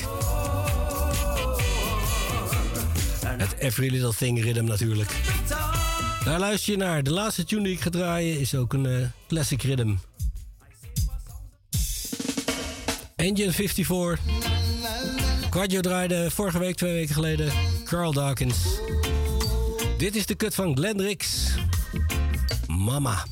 Het Every Little Thing Rhythm natuurlijk. Daar luister je naar. De laatste tune die ik ga draaien is ook een classic rhythm. Engine 54. Quadio draaide vorige week, 2 weken geleden. Carl Dawkins. Dit is de cut van Glenn Rix. Mama.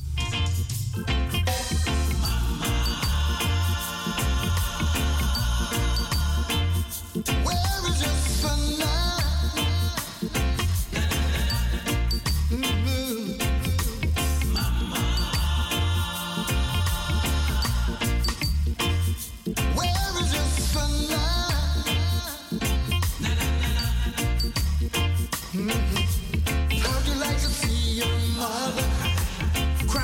Where is your sun now? Where is your sun now? How'd you like to see your mother cry?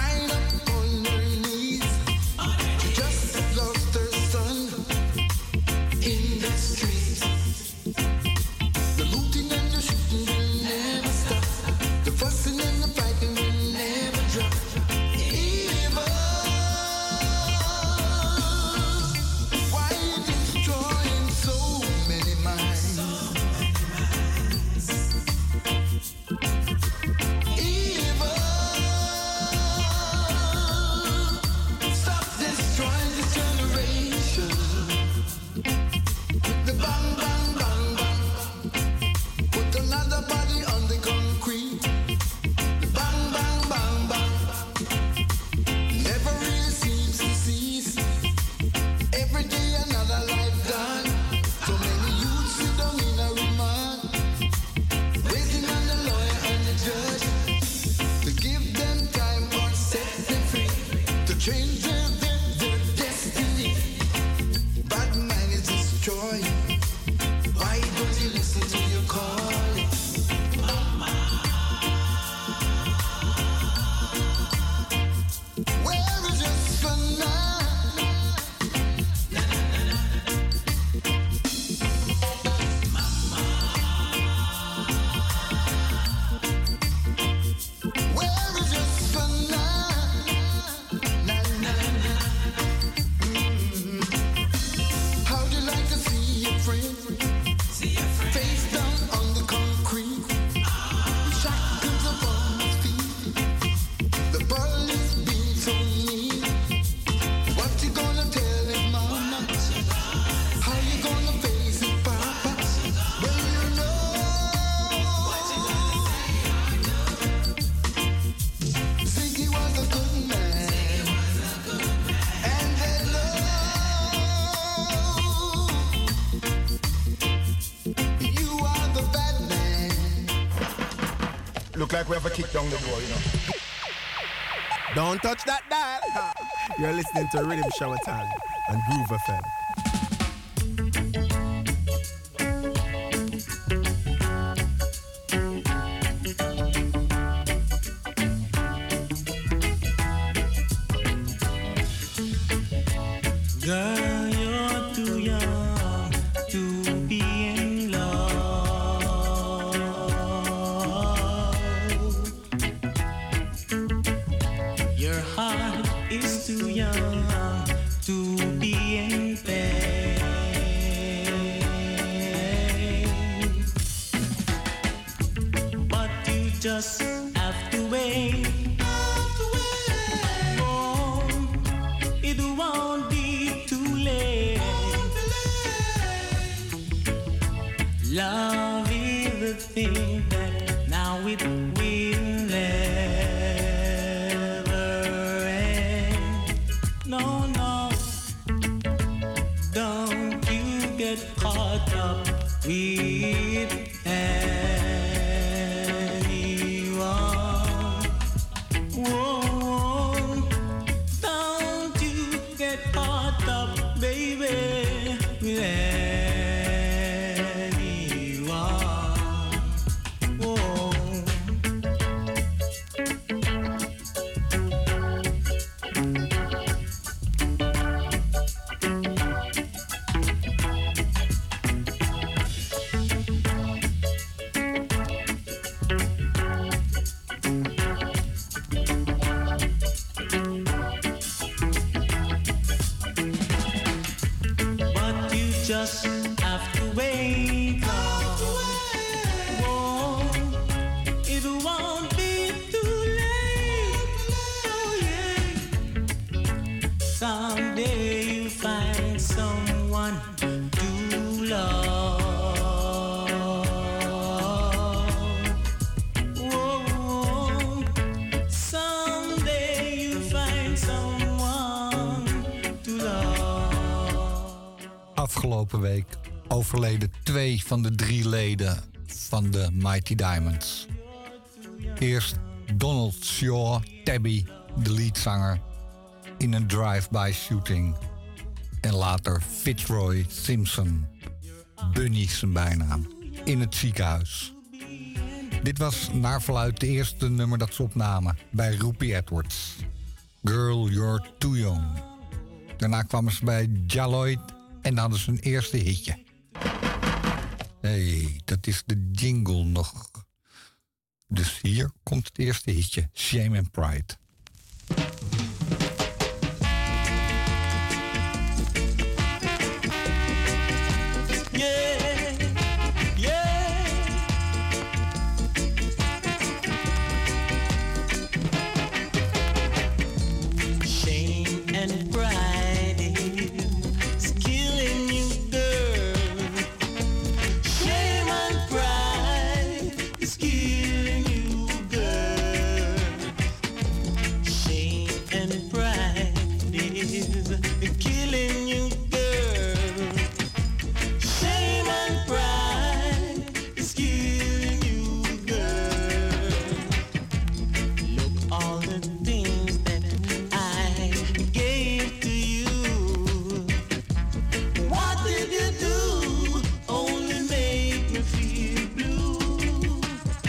Look like we have a kick down the door, you know.
Don't touch that dial. You're listening to Rhythm Shower Time on Groove FM.
Girl, you're too young to be in love. Your heart is too young to be in pain. But you just have to wait. Oh, it won't be too late. Love is the thing that now it will never end. No, no, don't you get caught up with anyone. Whoa, don't you get caught up, baby, with anyone. Whoa. But you just have to wait. Whoa, it won't be too late. Oh, yeah. Someday you find someone to love. Whoa, someday you find someone to love.
Afgelopen week overleden 2 van de 3 leden van de Mighty Diamonds. Eerst Donald Shaw, Tabby, de leadzanger, in een drive-by shooting. En later Fitzroy Simpson, Bunny zijn bijnaam, in het ziekenhuis. Dit was naar verluidt de eerste nummer dat ze opnamen bij Rupi Edwards. Girl, You're Too Young. Daarna kwamen ze bij Jaloid en hadden ze hun eerste hitje. Hey, dat is de jingle nog. Dus hier komt het eerste hitje, Shame and Pride.
Yeah, yeah. Shame and pride is killing you, girl. Shame and pride is killing you, girl. Shame and pride is killing you, girl. Shame and pride is killing you, girl. Look all the things that I gave to you. What did you do? Only make me feel blue.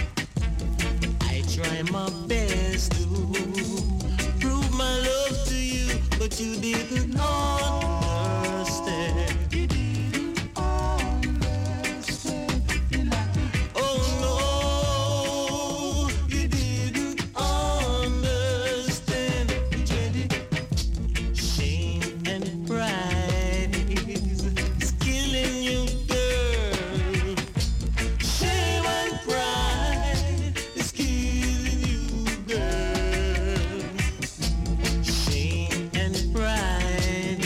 I try my best to prove my love to you, but you didn't understand. Oh no, you didn't understand. Shame and pride is killing you, girl. Shame and pride is killing you, girl. Shame and pride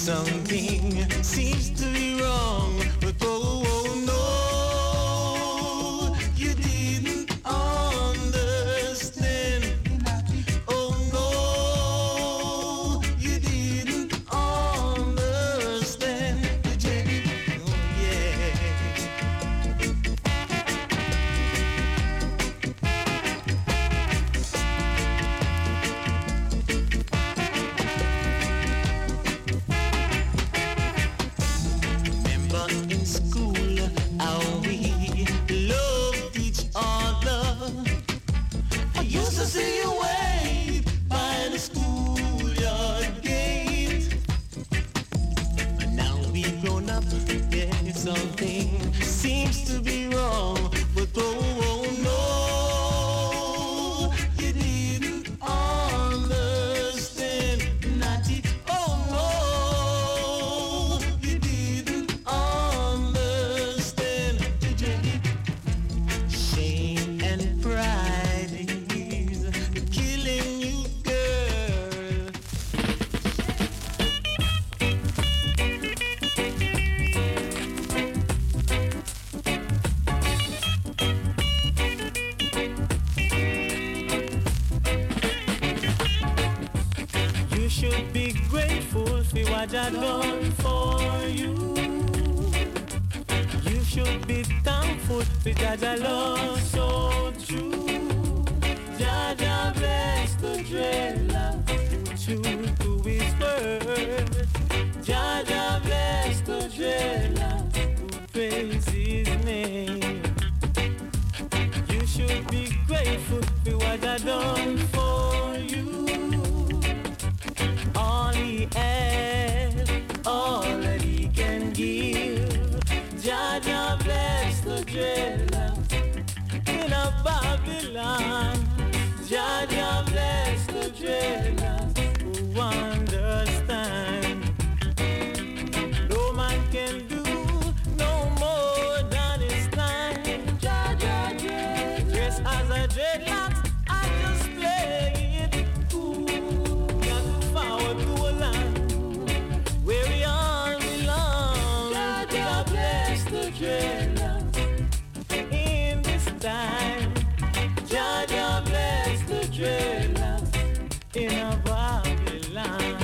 Something seems to be wrong, but oh no, you didn't understand. Oh no, you didn't understand. Oh yeah. In school, how we loved each other. I used to see you wait by the schoolyard gate. But now we've grown up, yeah, something seems to be wrong. But oh no, you didn't understand. Not it, oh no. Shame and pride is killing you, girl. You should be grateful for what I done for you. You should be thankful because I love so true. Jaja bless the dreadlock who true to his word. Jaja bless the dreadlock who praise his name. You should be grateful for what I done for you. All he has, all that he can give. Jaja bless the dreadlock in a Babylon. Jaja bless the dreadlock who understand. No man can do no more than his time. Jaja dreadlock, dress as a dreadlock, I just play it cool. Got forward to a land where we all belong. Jaja bless the dreadlock in this time. Jaja bless the dreadlock in a Babylon.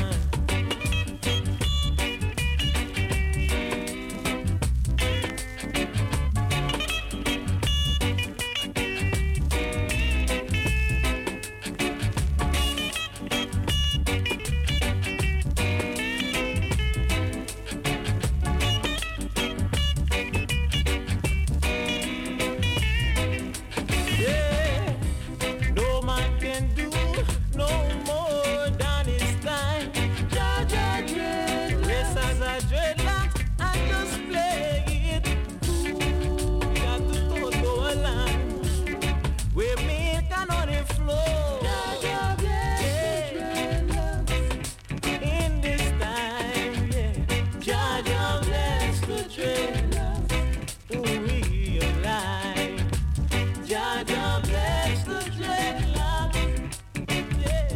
No man can do no more than his time. Jaja dread, dress as a dreadlock, I just play it cool. Got to go to a land where milk and honey flow. Jaja bless the dreadlock in this time, yeah. Jaja bless the dreadlock, who realize. Jaja bless the dreadlock, yeah.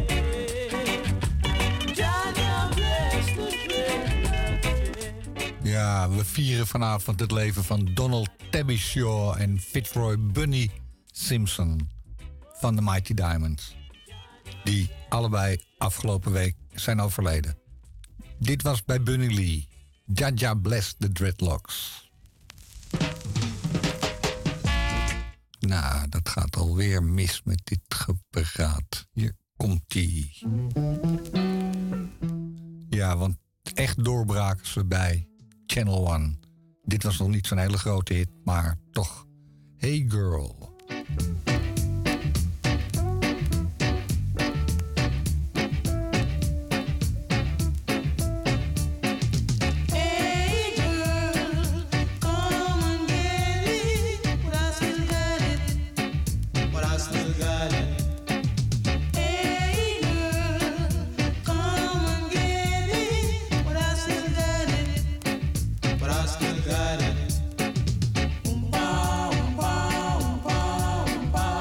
Jaja bless the dreadlock, yeah.
Ja, we vieren vanavond het leven van Donald Tabby Shaw en Fitzroy Bunny Simpson van de Mighty Diamonds. Die allebei afgelopen week zijn overleden. Dit was bij Bunny Lee. Jaja bless the dreadlocks. Nou, dat gaat alweer mis met dit gepraat. Hier komt-ie. Ja, want echt doorbraken ze bij Channel One. Dit was nog niet zo'n hele grote hit, maar toch. Hey Girl.
Got it.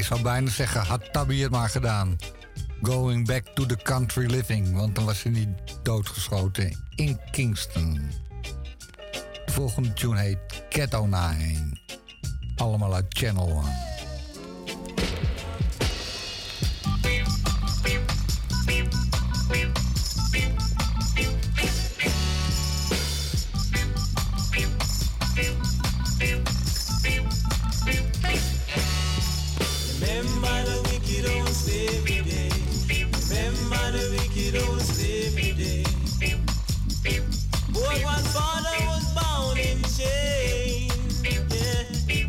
zou bijna zeggen, had Tabby het maar gedaan. Going back to the country living. Want dan was hij niet doodgeschoten in Kingston. De volgende tune heet Ghetto 9. Allemaal uit Channel One.
Remember the wicked old slavery day. Remember the wicked old slavery day. Boy, one father was bound in chains. Yeah.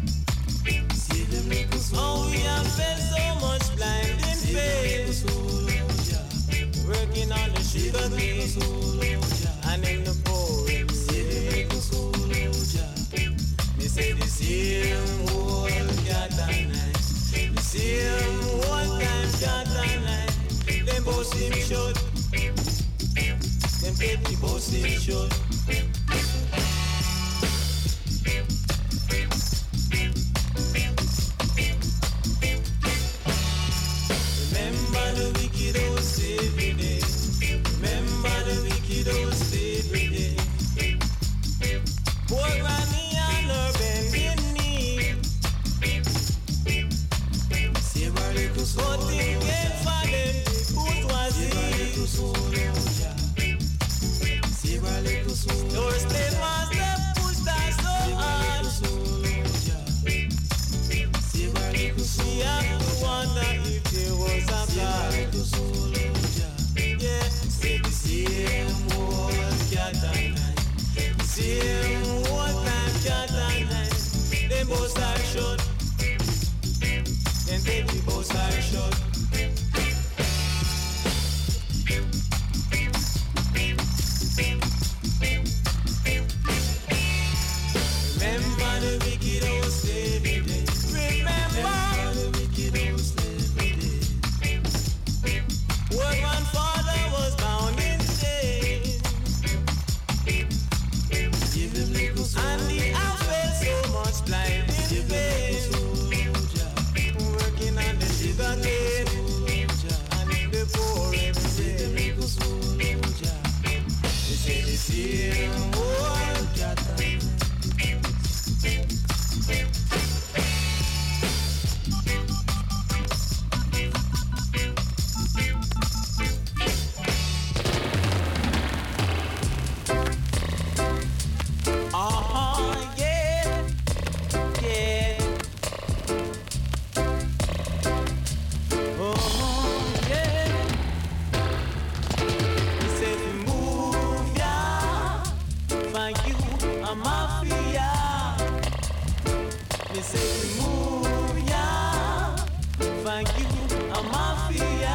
Oh, we have felt so much blinding pain. Working on the sugar cane and in the pouring rain. Me say the same old cat and night. The same old time cat and night. Them both seem short. Them petty both seem short. Remember the wicked old slavery day. Remember the wicked old slavery day. Poor granny and her bending knee. Save her little soul. But thing came for them, bourgeoisie. Save her little soul. Your slave master pushed her so hard. Save her little soul. She had to wonder if there was a God. Yeah, say the same old cat and night. The same old time cat and night. Them both are short. Them baby both are short. Remember the wicked old slavery day. Remember the wicked old slavery day. Where one father was bound in chains. Give him little soul. And the I felt so much blinding pain. Working on the sugar cane and in the pouring rain. They say the same old cat. Yeah, yeah. Oh, yeah. He said, move, yeah. Thank you, a mafia. He said, move, yeah. Thank you, a mafia.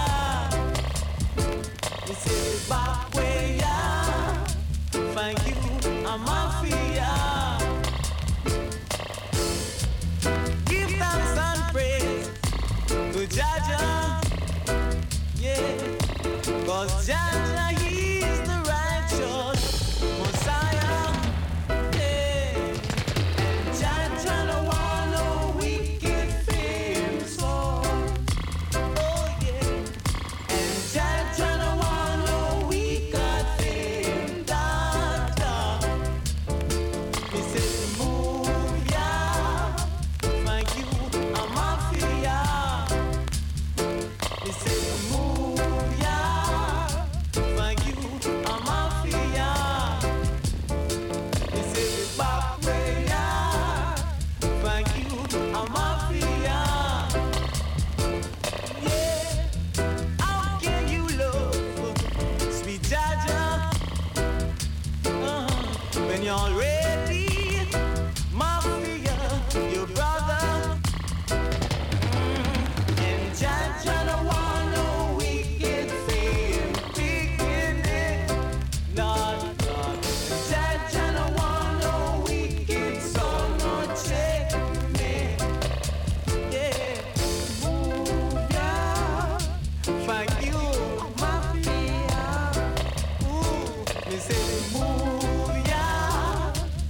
He said, back way, yeah. Thank you, a mafia. Give thanks and praise to Jaja, yeah, 'cause Jaja, he is the righteous Messiah, yeah. And Jaja don't want no wicked fame soul, oh yeah. And Jaja don't want no wicked fame data. He said, move, yeah. Thank you, a mafia. He said, move, yeah. Thank you, a mafia. He said, back way, yeah. Thank you, a mafia. Yeah. How can you love sweet Jaja when you're already mafia, your brother? And Jaja don't want no wicked fame, wicked Lord, Lord. Jaja don't want no wicked son, no check me. Yeah, move, yeah. Thank you, mafia. Ooh, they say move, yeah.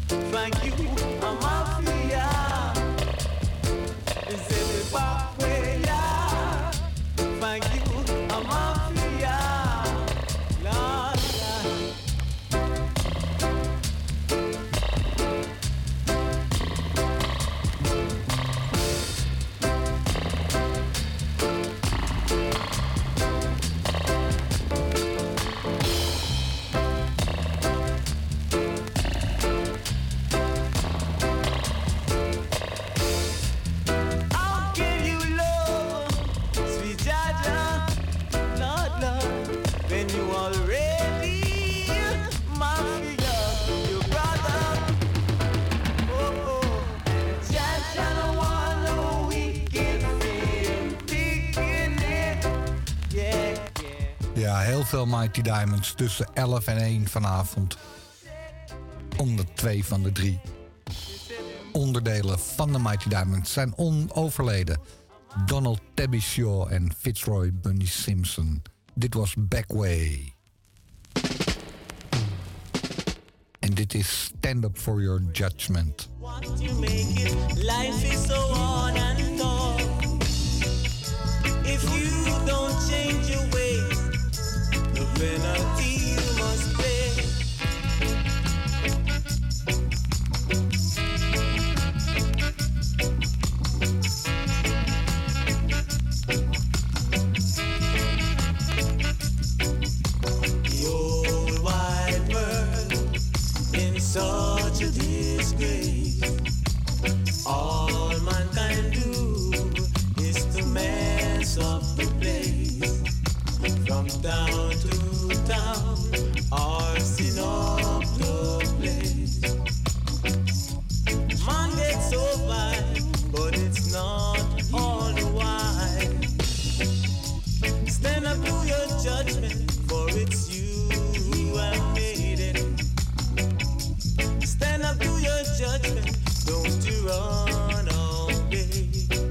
Ja, heel veel Mighty Diamonds tussen 11 en 1 vanavond. Onder 2 van de 3 onderdelen van de Mighty Diamonds zijn overleden. Donald Tabby Shaw en Fitzroy Bunny Simpson. Dit was Backway. En dit is Stand Up For Your Judgment.
What you make it, life is so on and on. If you don't change your ways, the penalty you must pay. The old wide world in such a disgrace. All mankind do is to mess up the place. From town to town, arson up the place. Man gets so fine, but it's not all the while. Stand up to your judgment, for it's you who have made it. Stand up to your judgment, don't you run away.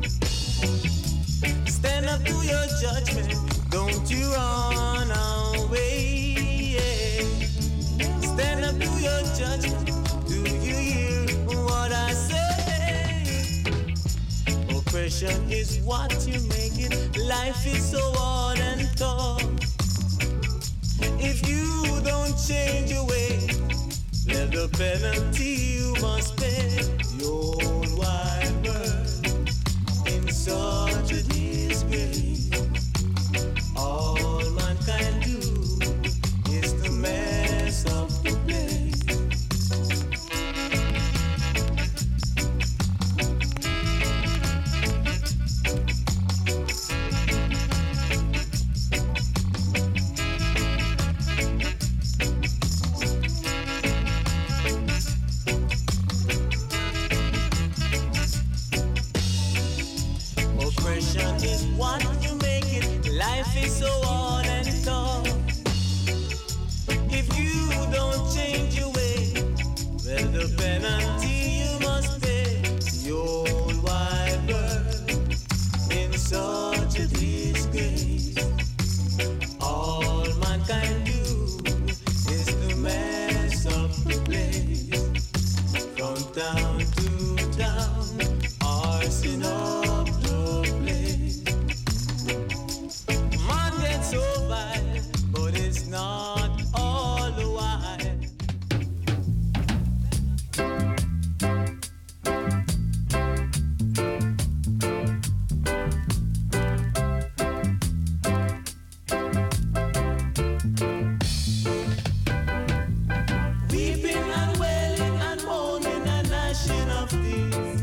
Stand up to your judgment, don't you run away. Yeah. Stand up to your judgment, do you hear what I say? Oppression is what you make it, life is so hard and tough. If you don't change your way, well, the penalty you must pay. The old wide world in such a disgrace. All mankind do is to mess up the place. Oppression is what you make it, life is so hard and tough. If you don't change your way, well, the penalty you must pay. The old wide world in such a disgrace. All mankind do is to mess up the place. From town to town, arson up the place. Man gets so violent, but it's not all the while. Weeping and wailing and moaning and gnashing of teeth.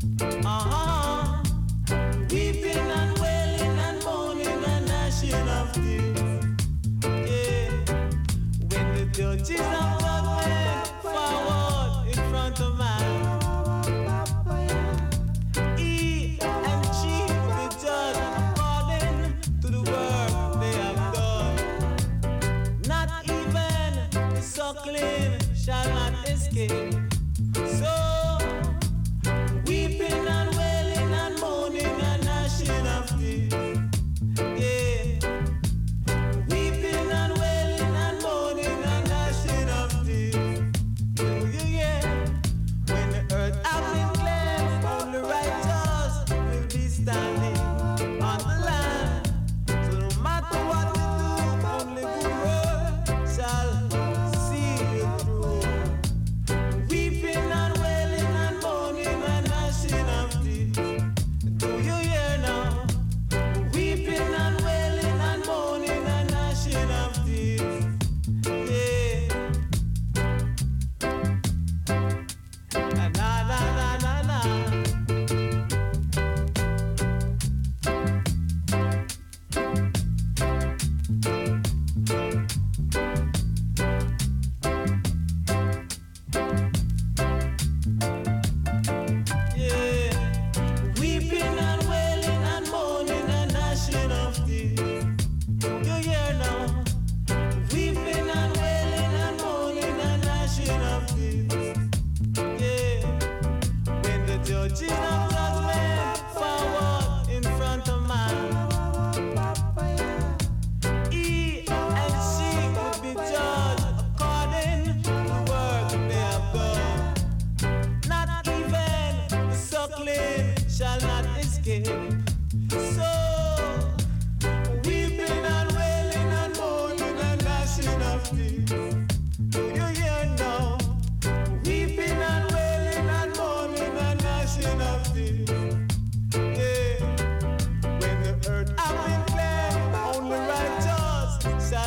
Weeping and wailing and moaning and gnashing of teeth. Yeah. When the judges of judgment forward in front of man, he and chief the judge according to the work they have done. Not even the suckling shall not escape. So weeping and wailing and moaning and gnashing of teeth. Yeah. Weeping and wailing and moaning and gnashing of teeth. Yeah. When the earth has been cleansed, only righteous will be standing on the land. So no matter what we do, only good word shall see you through. Weeping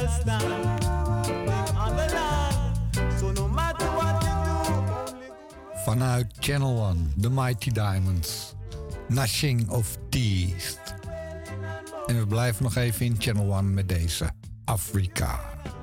understand. On the land, so no matter what you do.
Vanuit Channel One, The Mighty Diamonds. Gnashing of Teeth. En we blijven nog even in Channel One met deze Afrika.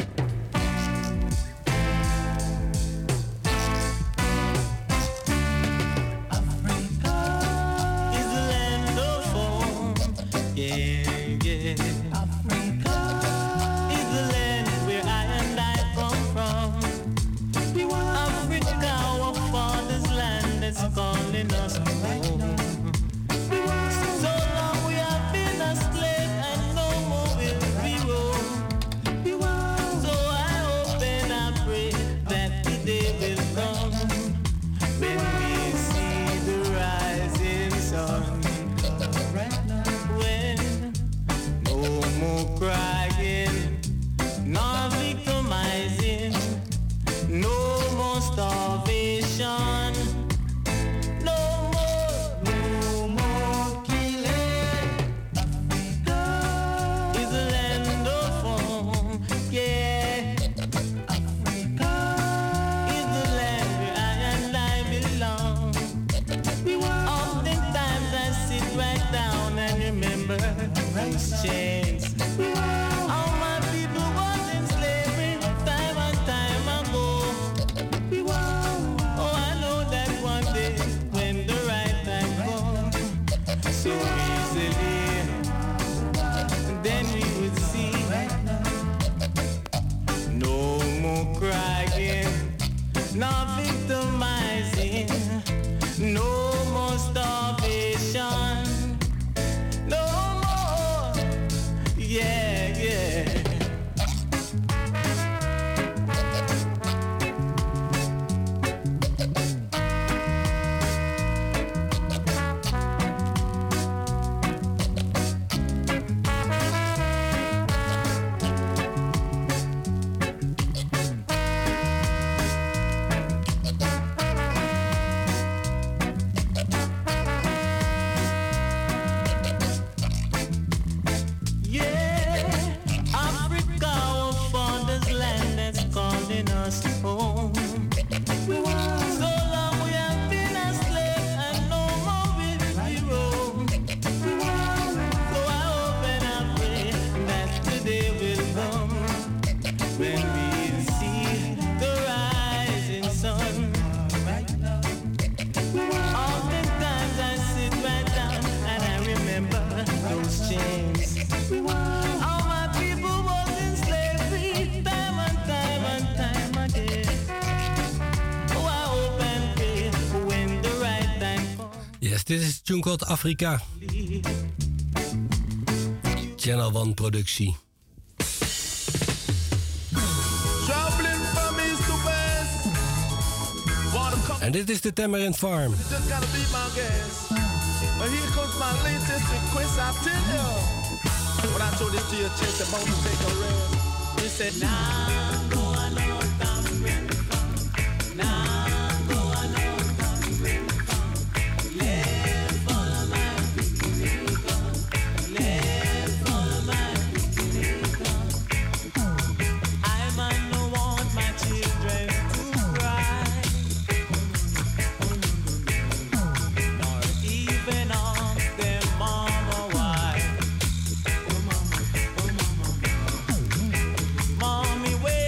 Dit is Tune called Afrika. Channel One productie. En dit is de Tamarind Farm.
But here comes my latest request, I tell you. When I told this to your chest, about to take a rest. He said, nah, go on, no, tamarind farm. Nah, go on, no, tamarind farm. Let's follow my picnic on. Let's follow my picnic on. I might not want my children to cry, nor even ask their mama why. Mommy, wait.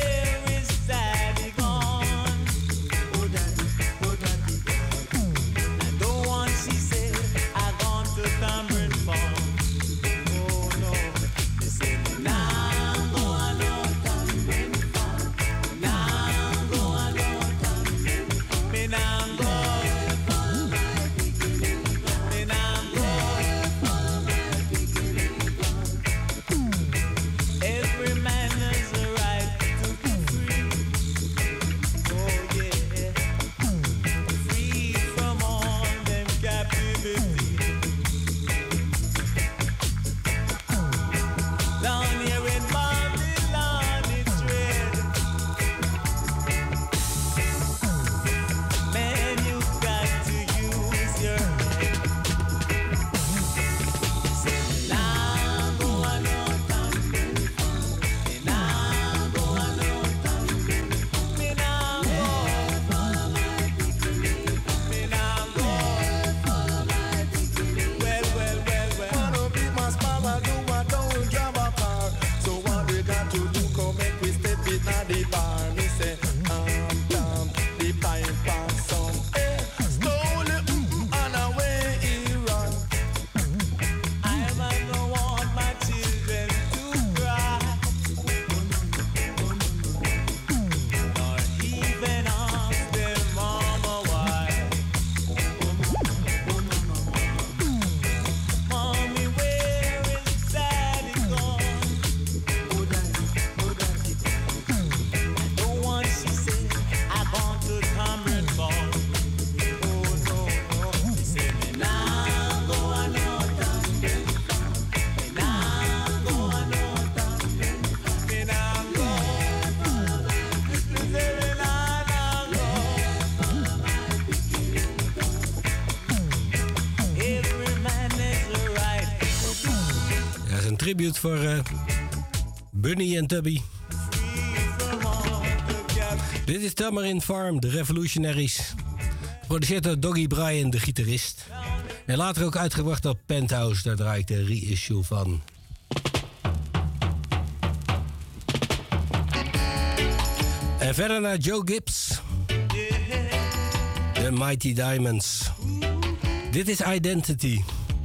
tribute voor Bunny en Tubby. Dit is Tamarin Farm, de Revolutionaries. Geproduceerd door Doggy Bryan, de gitarist. En later ook uitgebracht op Penthouse, daar draai ik de reissue van. En verder naar Joe Gibbs. The Mighty Diamonds. Dit is Identity.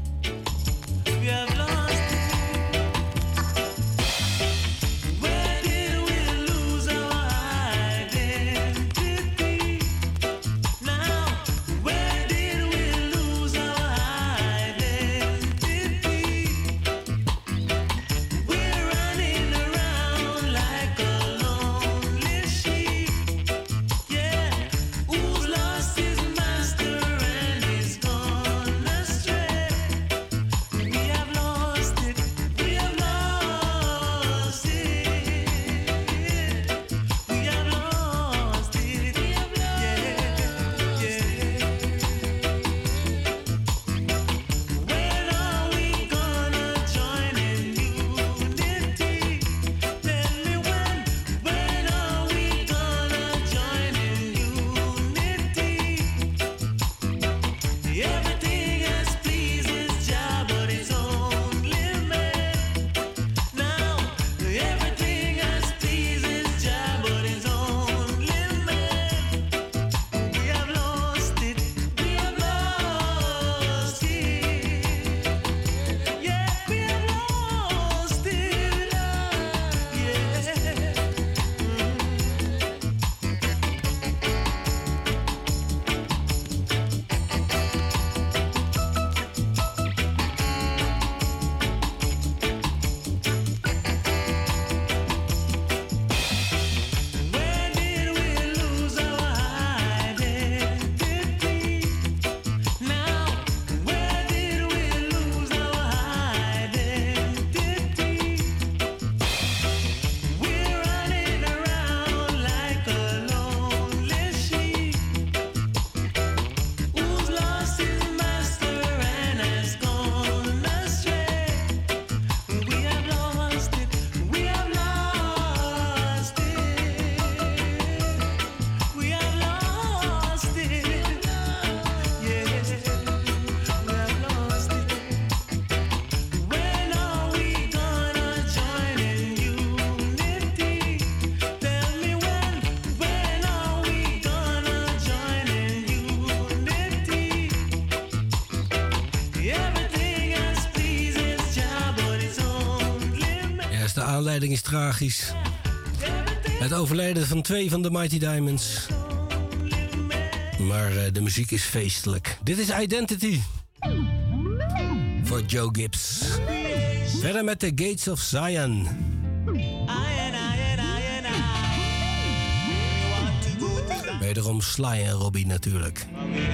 De aanleiding is tragisch. Het overlijden van 2 van de Mighty Diamonds. Maar de muziek is feestelijk. Dit is Identity. Voor Joe Gibbs. Verder met The Gates of Zion. Wederom Sly en Robbie natuurlijk.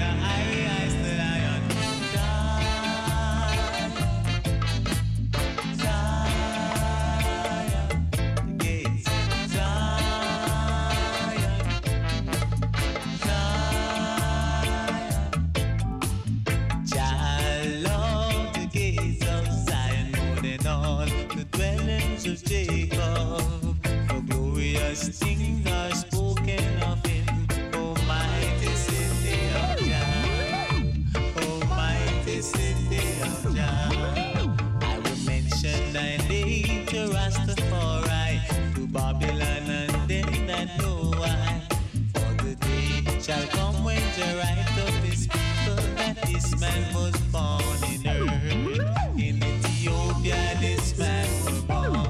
Things are spoken of him, oh mighty city of Jah, oh mighty city of Jah. I will mention thy name to Rastafari, to Babylon and them that know why. For the day shall come when the right of his people that this man was born in earth. In Ethiopia this man was born.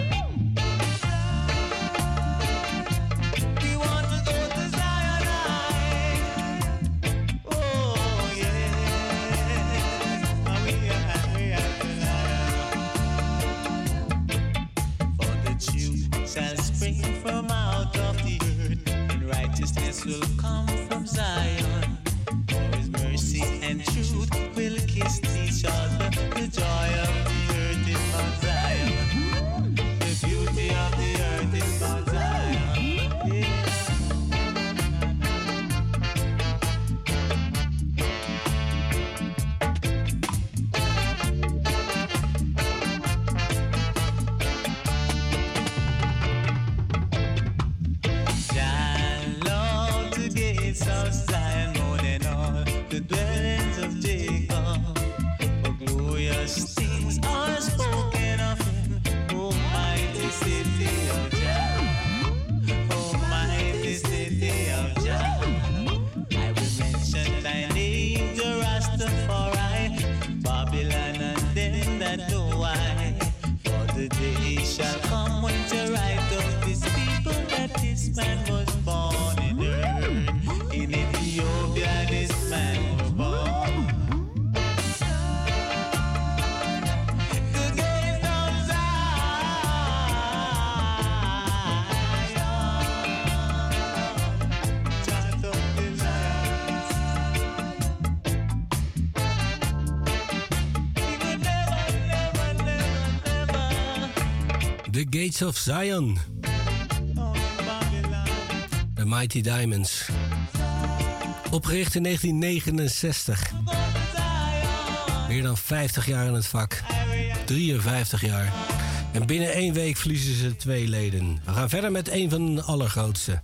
Will come from Zion, for his mercy and truth will kiss each other. The joy of the earth is Mount Zion, the beauty of the earth is Mount Zion. Yeah.
Gates of Zion. The Mighty Diamonds. Opgericht in 1969. Meer dan 50 jaar in het vak. 53 jaar. En binnen 1 week verliezen ze 2 leden. We gaan verder met een van de allergrootste.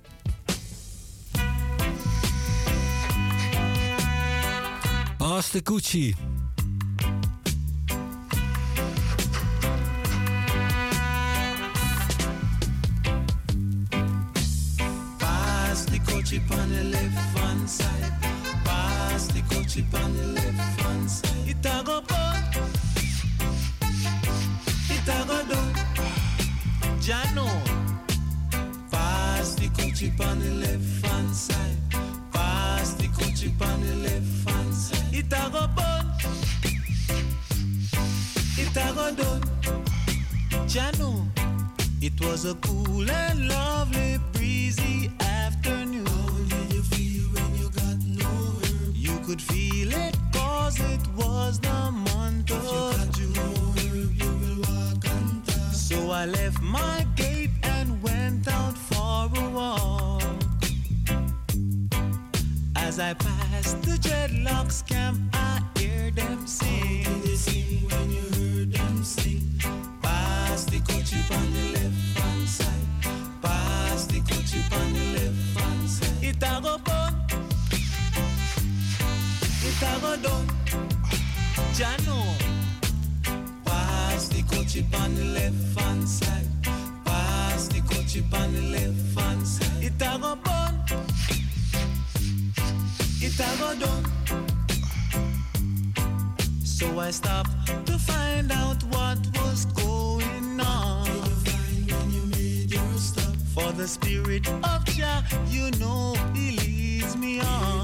Pass the Coochie.
Pass the coachie on the left hand side. Pass the coachie on the left hand side. It a go bun. It a go down. Jano. Pass the coachie on the left hand side. Pass the coachie on the left hand side. It a go bun. It a go down. Jano. It was a cool and lovely breezy afternoon. How did you feel when you got no herb? You could feel it cause it was the month of June. If you got no herb, you will walk on top. So I left my gate and went out for a walk. As I passed the dreadlocks camp, I hear them sing. How did they sing when you heard them sing? Pass the coachie on the left hand side. Pass the coachie on the left hand side. It a go bun. It a go down. Jano. Pass the coachie on the left hand side. Pass the coachie on the left hand side. It a go bun. It a go down. So I stopped to find out what was going on. Did you find when you made your stop? For the spirit of Jah, you know he leads me on.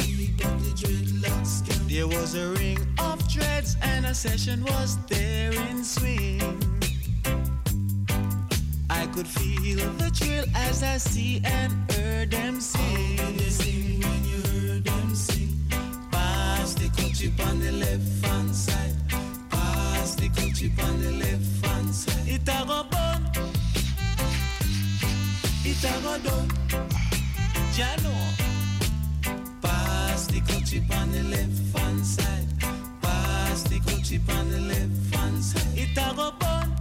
There was a ring of dreads and a session was there in swing. I could feel the thrill as I see and heard them sing. How did they sing when you heard them sing? Pass the coachie on the left hand side. Pass the coachie on the left hand side. It a go bun. It a go down. Jano. Pass the coachie on the left hand side. Pass the coachie on the left hand side. It a go bun.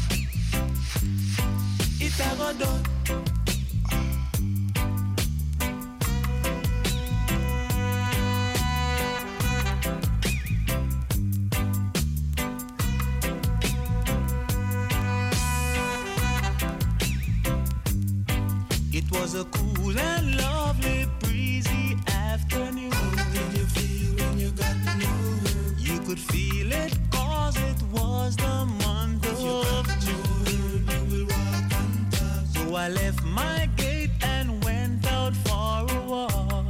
It a go down. It was a cool and lovely breezy afternoon. How did you feel when you got no herb? You could feel it cause it was the month of June. You will walk on top. So I left my gate and went out for a walk.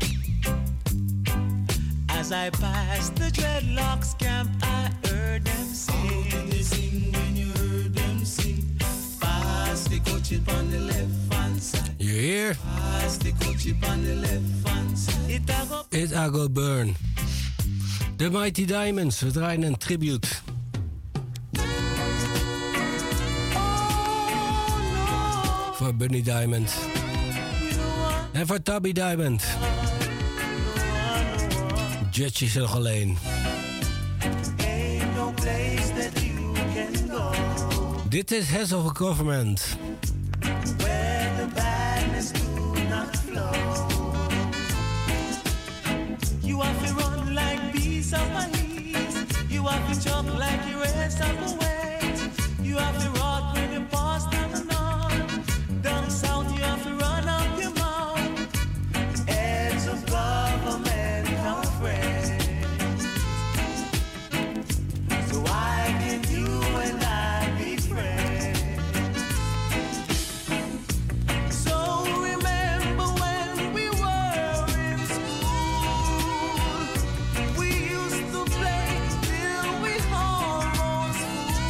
As I passed the dreadlocks camp, I heard them sing. How did they sing when you heard them sing? Pass the coachie on the left hand side.
You hear?
Pass the coachie on the left hand side.
It a go burn. The Mighty Diamonds. We draaien een tribute. Voor Bunny Diamond. En voor Tubby Diamond. Judge is er nog alleen.
Ain't no place that you can go.
Dit is Heads of a Government.
Where the badness do not flow. You have to run like bees of my knees. You have to jump like you rest of the waves. You have to rock when you pass down the north. Down south you have to run up your mouth. Heads of government are friends. So why can you and I be friends? So remember when we were in school, we used to play till we almost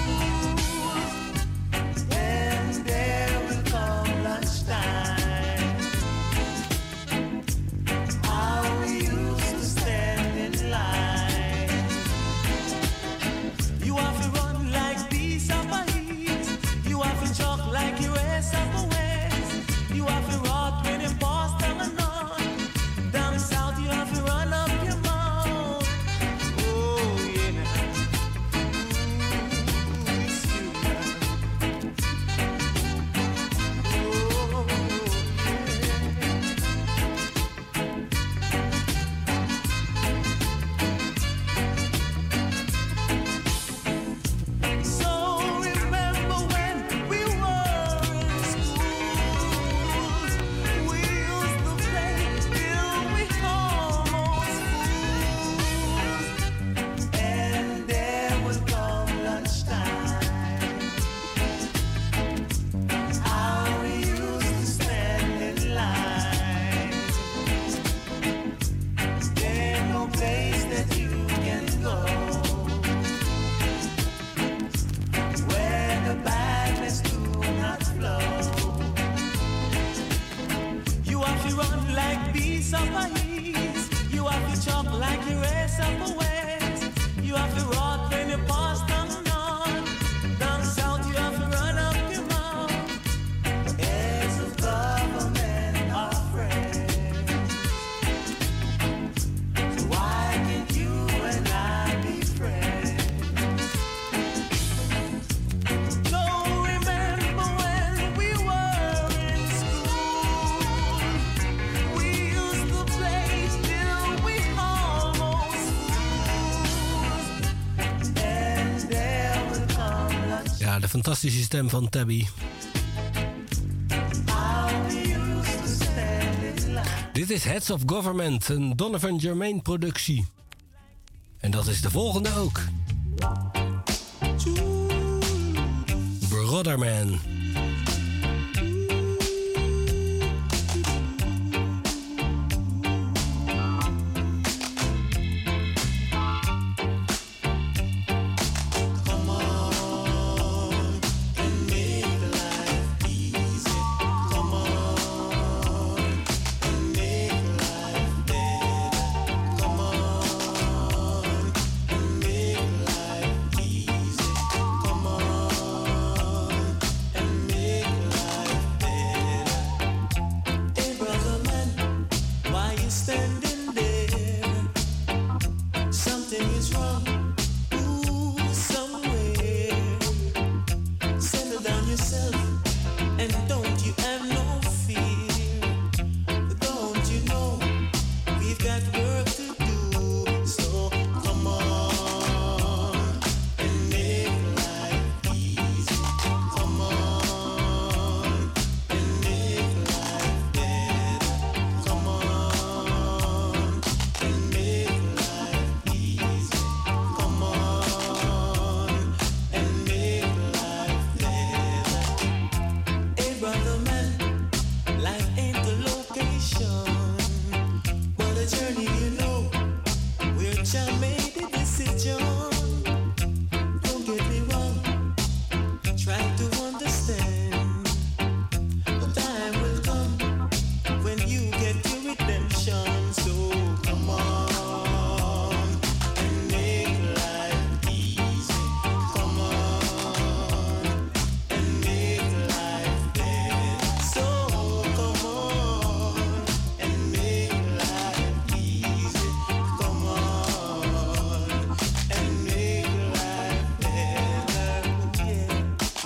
piece of ice. You have to chop like the rest of the West. You have to rot when you pass down north. Down south, you have to run up your mouth. Heads of government are friends. So why can't you and I be friends? So remember when we were in school, we used to play till we almost fools. And there will come lunch.
Ja, de fantastische stem van Tabby.
How we used to stand in line.
Dit is Heads of Government, een Donovan Germain productie. En dat is de volgende ook. Brotherman.
Come on and make life easy. Come on and make life better. Come on and make life easy. Come on and make life better. Hey brother man, why you standing there? Something is wrong. Ooh, somewhere. Settle down yourself and don't you have no fear. Don't you know we've got work to do? So come on and make life easy. Come on and make life better. Come on and make life easy. Come on and make life better. Hey brother man, life ain't the location, but a journey, you know, where Jah made the decision. Don't get me wrong, try to understand. The time will come when you get your redemption. So come on and make life easy. Come on and make life better. So come on and make life easy. Come on and make life better. Yeah.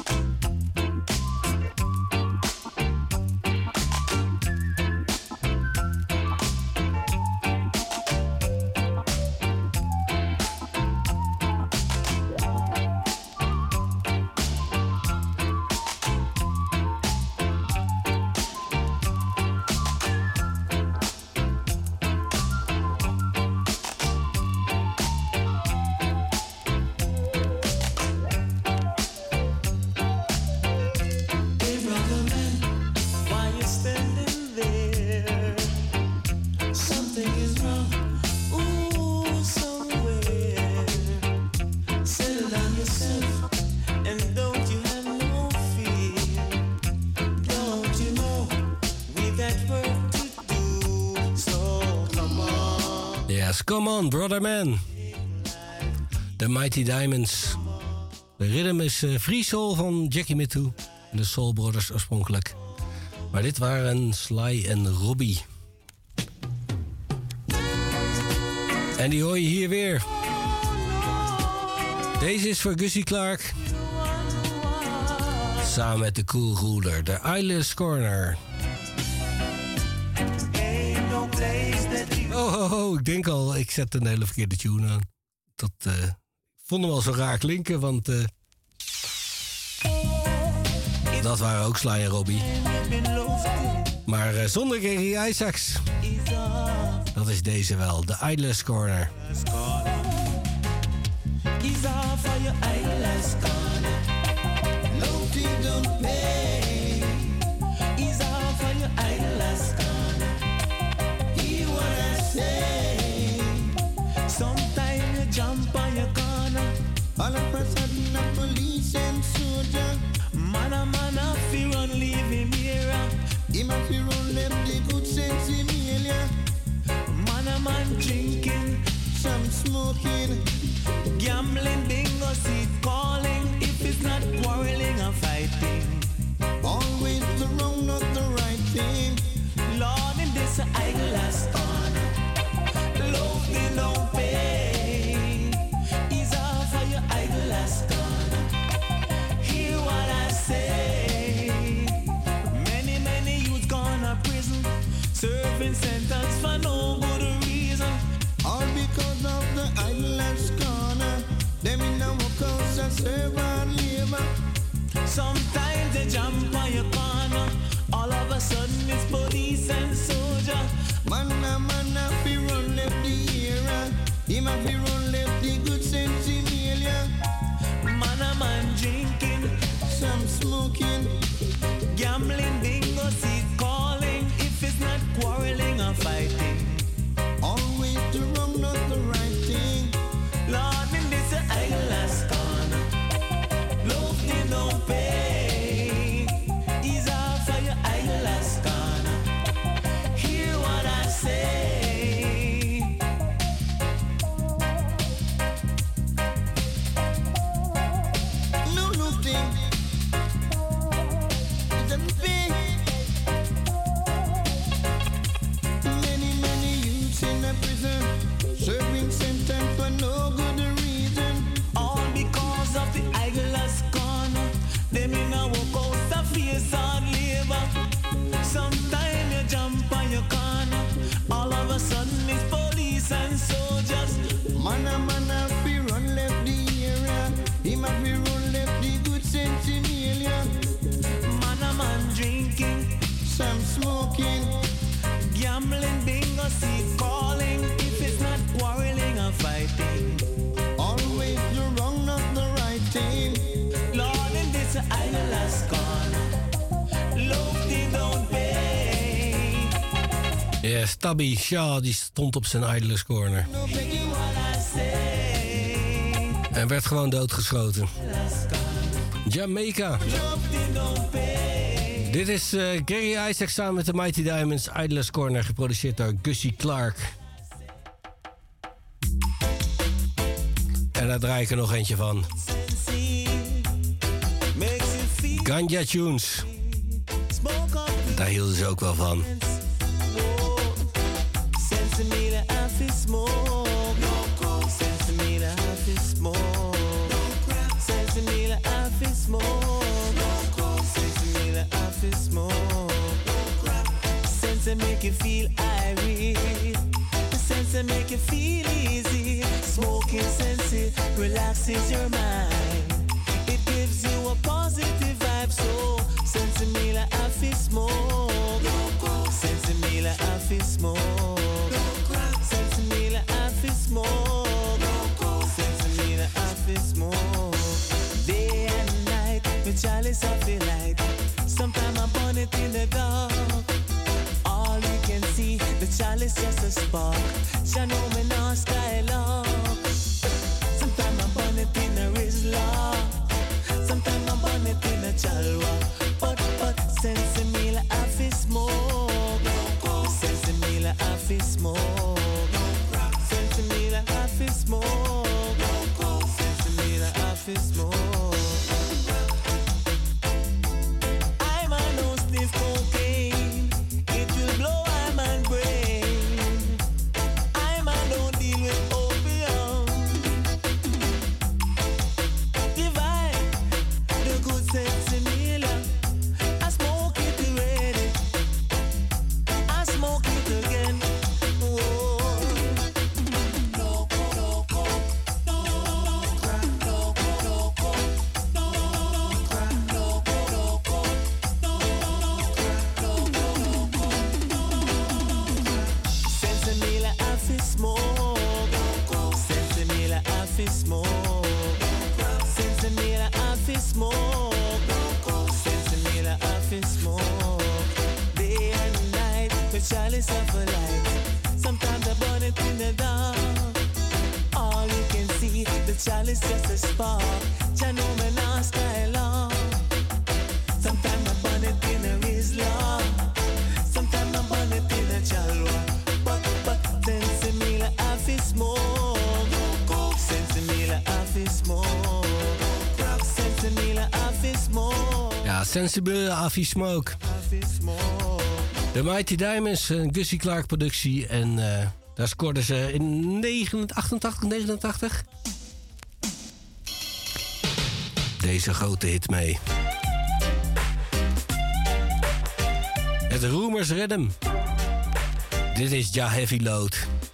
Hey brother man, why you standing there? Something is wrong. Ooh, somewhere. Settle down yourself and don't you have no fear. Don't you know we got work to do? So come on.
Yes, come on, Brotherman. The Mighty Diamonds. De rhythm is Free Soul van Jackie Mittoo. De Soul Brothers oorspronkelijk. Maar dit waren Sly en Robbie. En die hoor je hier weer. Deze is voor Gussie Clark. Samen met de Cool Ruler, de Eyeless Corner.
Ain't no place that you
Oh, ik denk al, ik zet een hele verkeerde tune aan. Dat vond hem wel zo raar klinken, want dat waren ook Sly en Robbie. Maar zonder Gary Isaacs. Dat is deze wel, de Eyeless Corner.
He's off for your eyeless corner. Loaded don't pay. He's off for your eyeless corner. He wanna say. Sometimes you jump on your corner. All of a sudden the police and soldier. Man, fi run leave him here. He must be run them the good sense in here. drinking, some smoking, gambling, bingo, seat calling. If it's not quarreling or fighting, always the wrong, not the right thing. Lord, in this eyeglass on, love me no pain. Is all for your eyeglass on. Hear what I say. Many youths gone to prison, serving sentence for no good reason. All because of the eyeglass corner. Them in the workhouse and serve and labor. Sometimes they jump on your corner. All of a sudden it's police and soldier. Man, if he run left the era. Him if he run left the good sense email. Man drinking, some smoking, gambling, bingo, seat calling. If it's not quarreling or fighting, always the wrong, not the right thing. Lord, in this eyeglass corner, love me no pain. Is all for your eyeglass corner. Hear what I say. No thing. It's a big. Many youths in a prison, serving sentence for no good reason. All because of the eyeglass corner. Them in a workhouse to face hard labor. Sometime you jump on your corner. All of a sudden it's police and soldiers. Man if he run left the area. Him if he run left the good sense email. Man drinking, some smoking, gambling, bingo, seat calling. If it's not quarreling or fighting, always the wrong, not the right thing. Lord, in this eyeglass corner, love die don't pay.
Ja, Stabby Shaw die stond op zijn Idlers Corner. En werd gewoon doodgeschoten. Jamaica. Dit is Gary Isaac samen met de Mighty Diamonds. Idlers Corner, geproduceerd door Gussie Clark. En daar draai ik er nog eentje van. Ganja Tunes. Daar hielden ze ook wel van.
Sense make you feel irate. Sense make you feel easy. Smoking sense relaxes your mind. It gives you a positive vibe. So sense me like I feel smoke. Sense me like I feel smoke. Sense me like I feel smoke. Sense me like I feel smoke. Day and night, with chalice I feel like. Sometimes I burn it in the dark. All you can see, the chalice just a spark. Shall know me now style up. Sometimes I burn it in a Rizla. Sometimes I burn it in a Chalwa. But sense me like I feel smoke. Sense me like I feel smoke. Sense me like I feel smoke. Sense me like I feel smoke. chalice of a light. Sometimes I burn it in the dark. All you can see, the chalice just a spark. Ya know me now style on. Sometimes I burn it in a Rizla. Sometimes I burn it in a Chalwa. But then see me like
Sensible, Avi Smoke. De Mighty Diamonds, een Gussie Clark productie. En daar scoorden ze in 88, 89 deze grote hit mee. Het Rumors Rhythm. Dit is Ja Heavy Load.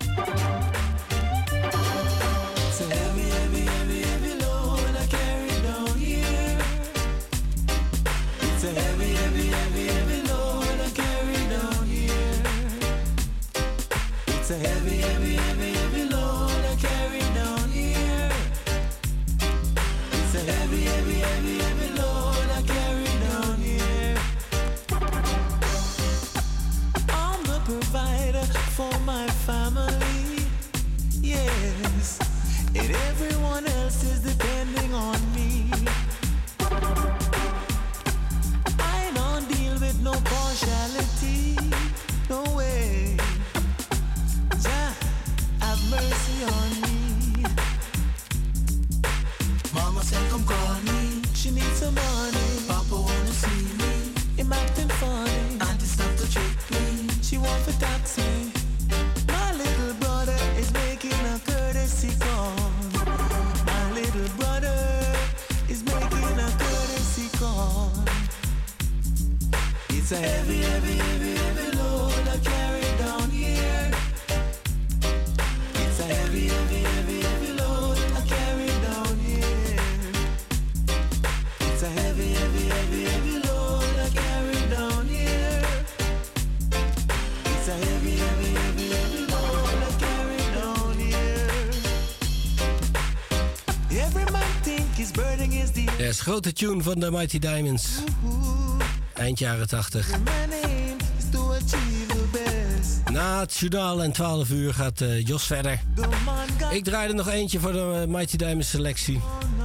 Grote tune van de Mighty Diamonds. Eind jaren 80. Na het journaal en 12 uur gaat Jos verder. Ik draai er nog eentje voor de Mighty Diamonds selectie.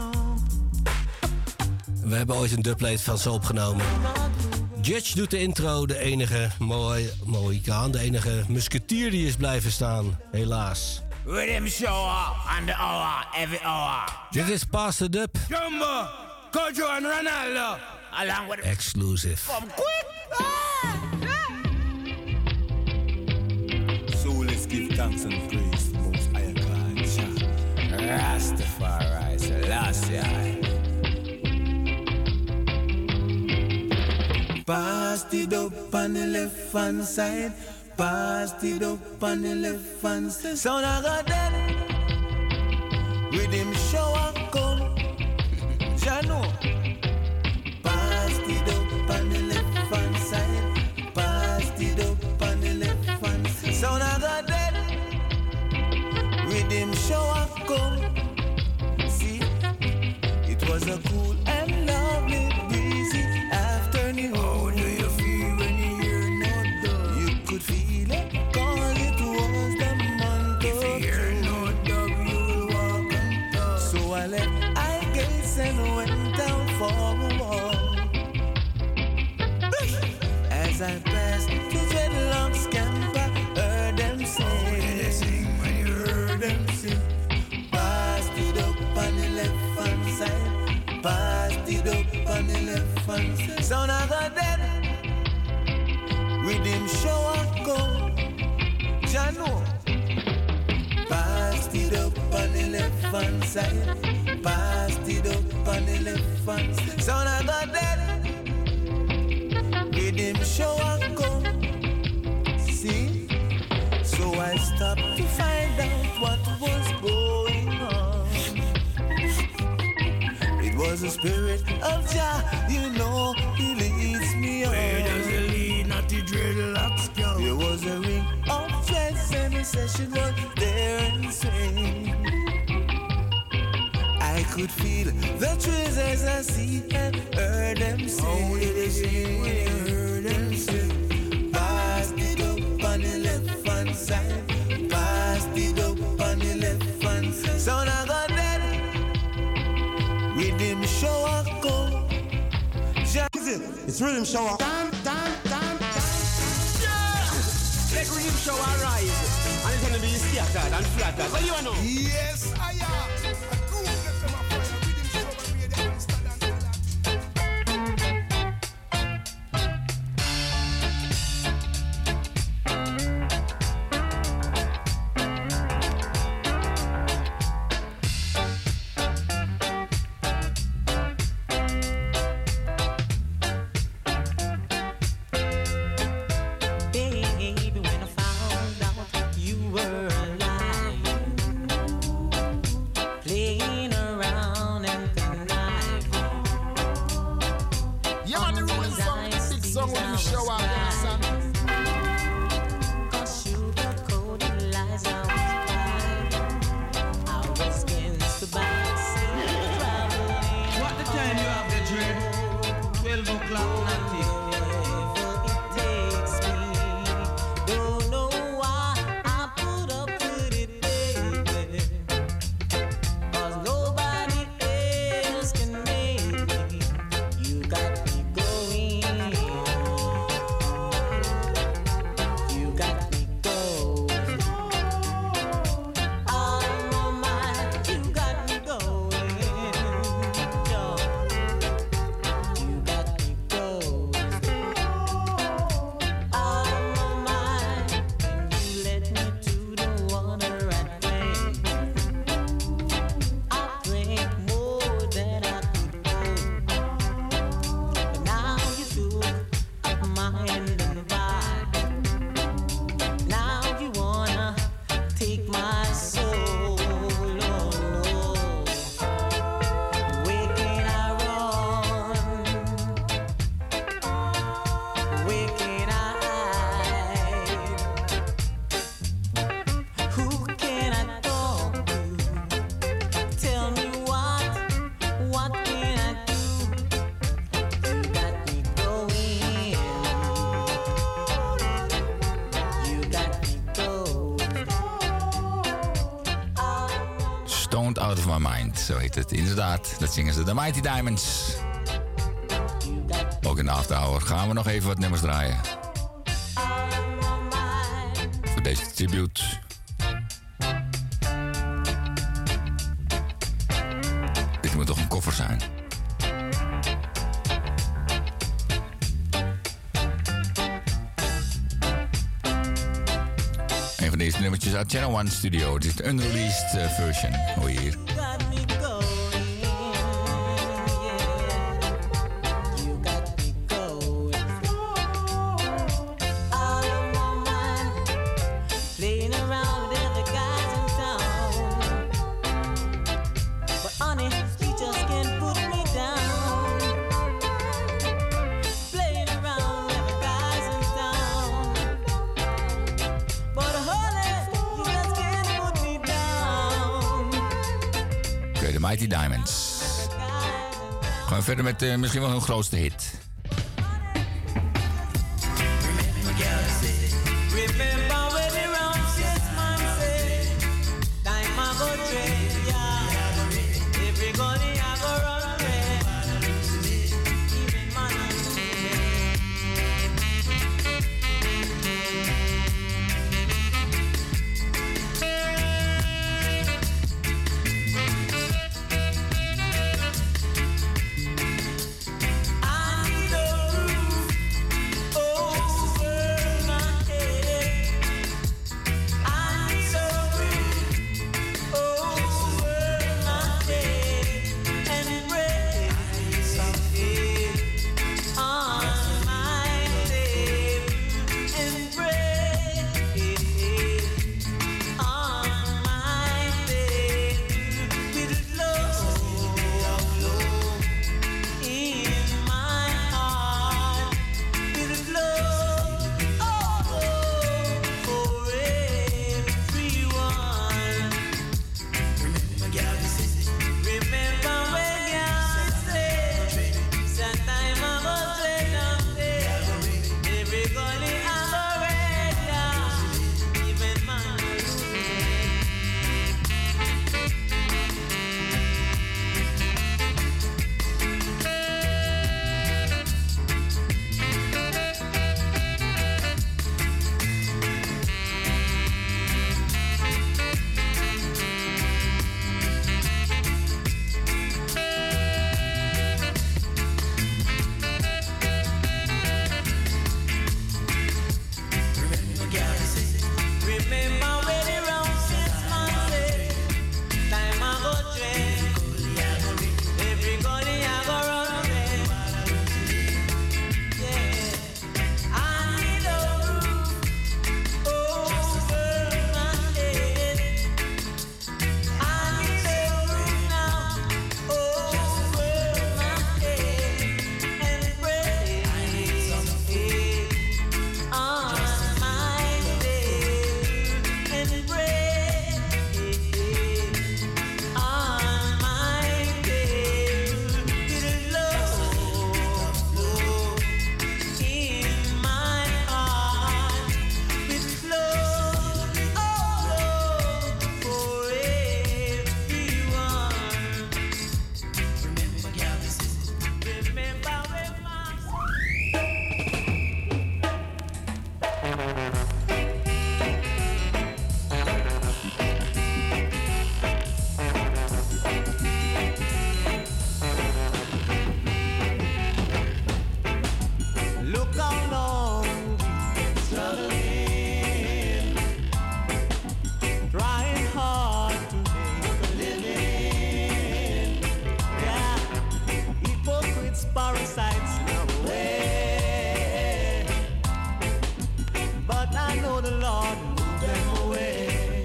We hebben ooit een dubplate van ze opgenomen. Judge doet de intro, de enige Mohikaan, de enige musketier die is blijven staan, helaas.
Rhythm show on the hour, every hour.
Dit is Pass the Dub.
Jumbo, Kojo and Ronaldo. Along with
Exclusive.
From quick.
So let's give thanks and praise to most higher God,
Rastafari, Selassie.
Pass it up on the left hand side. Pass it up on the left hand side. Sound I got that. Rhythm shower come. Jano. Pass it up on the left hand side. Pass it up on the left hand side. Sound I got that. Rhythm shower come. See, it was a cool and lovely breezy afternoon. How do you feel when you hear no dog? You could feel it, cause it was the month of June. If you hear no dog, you will walk on dog. So I left I gates and went down for a walk. As I passed the dreadlocks camp, I heard them sing. When you heard them sing, passed it up on the left hand side. Passed it up on the left hand side. Sound I got that. Rhythm shower come. Jano. Passed it up on the left hand side. Passed it up on the left hand side. Sound I got that. Rhythm shower come. See? So I stopped to find out what was going on. It was the spirit of Jah, you know, he leads me on.
Where does he lead? Not the dreadlocks go.
There was a ring of dreads and he said she was there and swing. I could feel the trees as I see and heard them sing.
How did they sing when you heard them sing?
Passed it up on the left hand side. Passed it up on the left hand side. Sound I got that. Rhythm shower come.
It's rhythm shower.
Let rhythm shower rise. And it's gonna be scattered and flattered. What do you know?
Yes, I am.
rhythm show up, you understand?
What the time you have the dread? 12 o'clock, nothing.
Out of My Mind, zo heet het. Inderdaad, dat zingen ze. The Mighty Diamonds. Ook in de afterhour gaan we nog even wat nummers draaien. Voor deze tribute. Dit moet toch een koffer zijn? Een van deze nummertjes uit Channel One Studio. Dit is de unreleased version. Hoor je hier. Mighty Diamonds. Gaan we verder met misschien wel hun grootste hit.
I
Look how long we've been struggling, trying hard to make a living. Yeah, hypocrites, parasites in our way, but I know the Lord will move them away.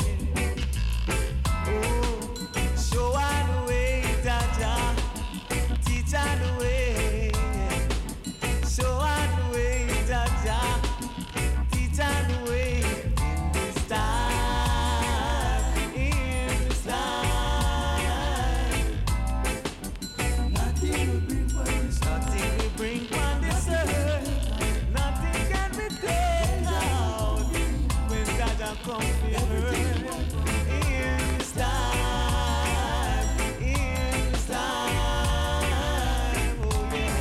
Oh, show I the way, Jaja, teach I the way. Show I the way, Jaja, teach I the way in this time, in this time. Nothing will bring on this earth, nothing can be taken out when Jaja comes to earth. In this time, in this time, oh yeah.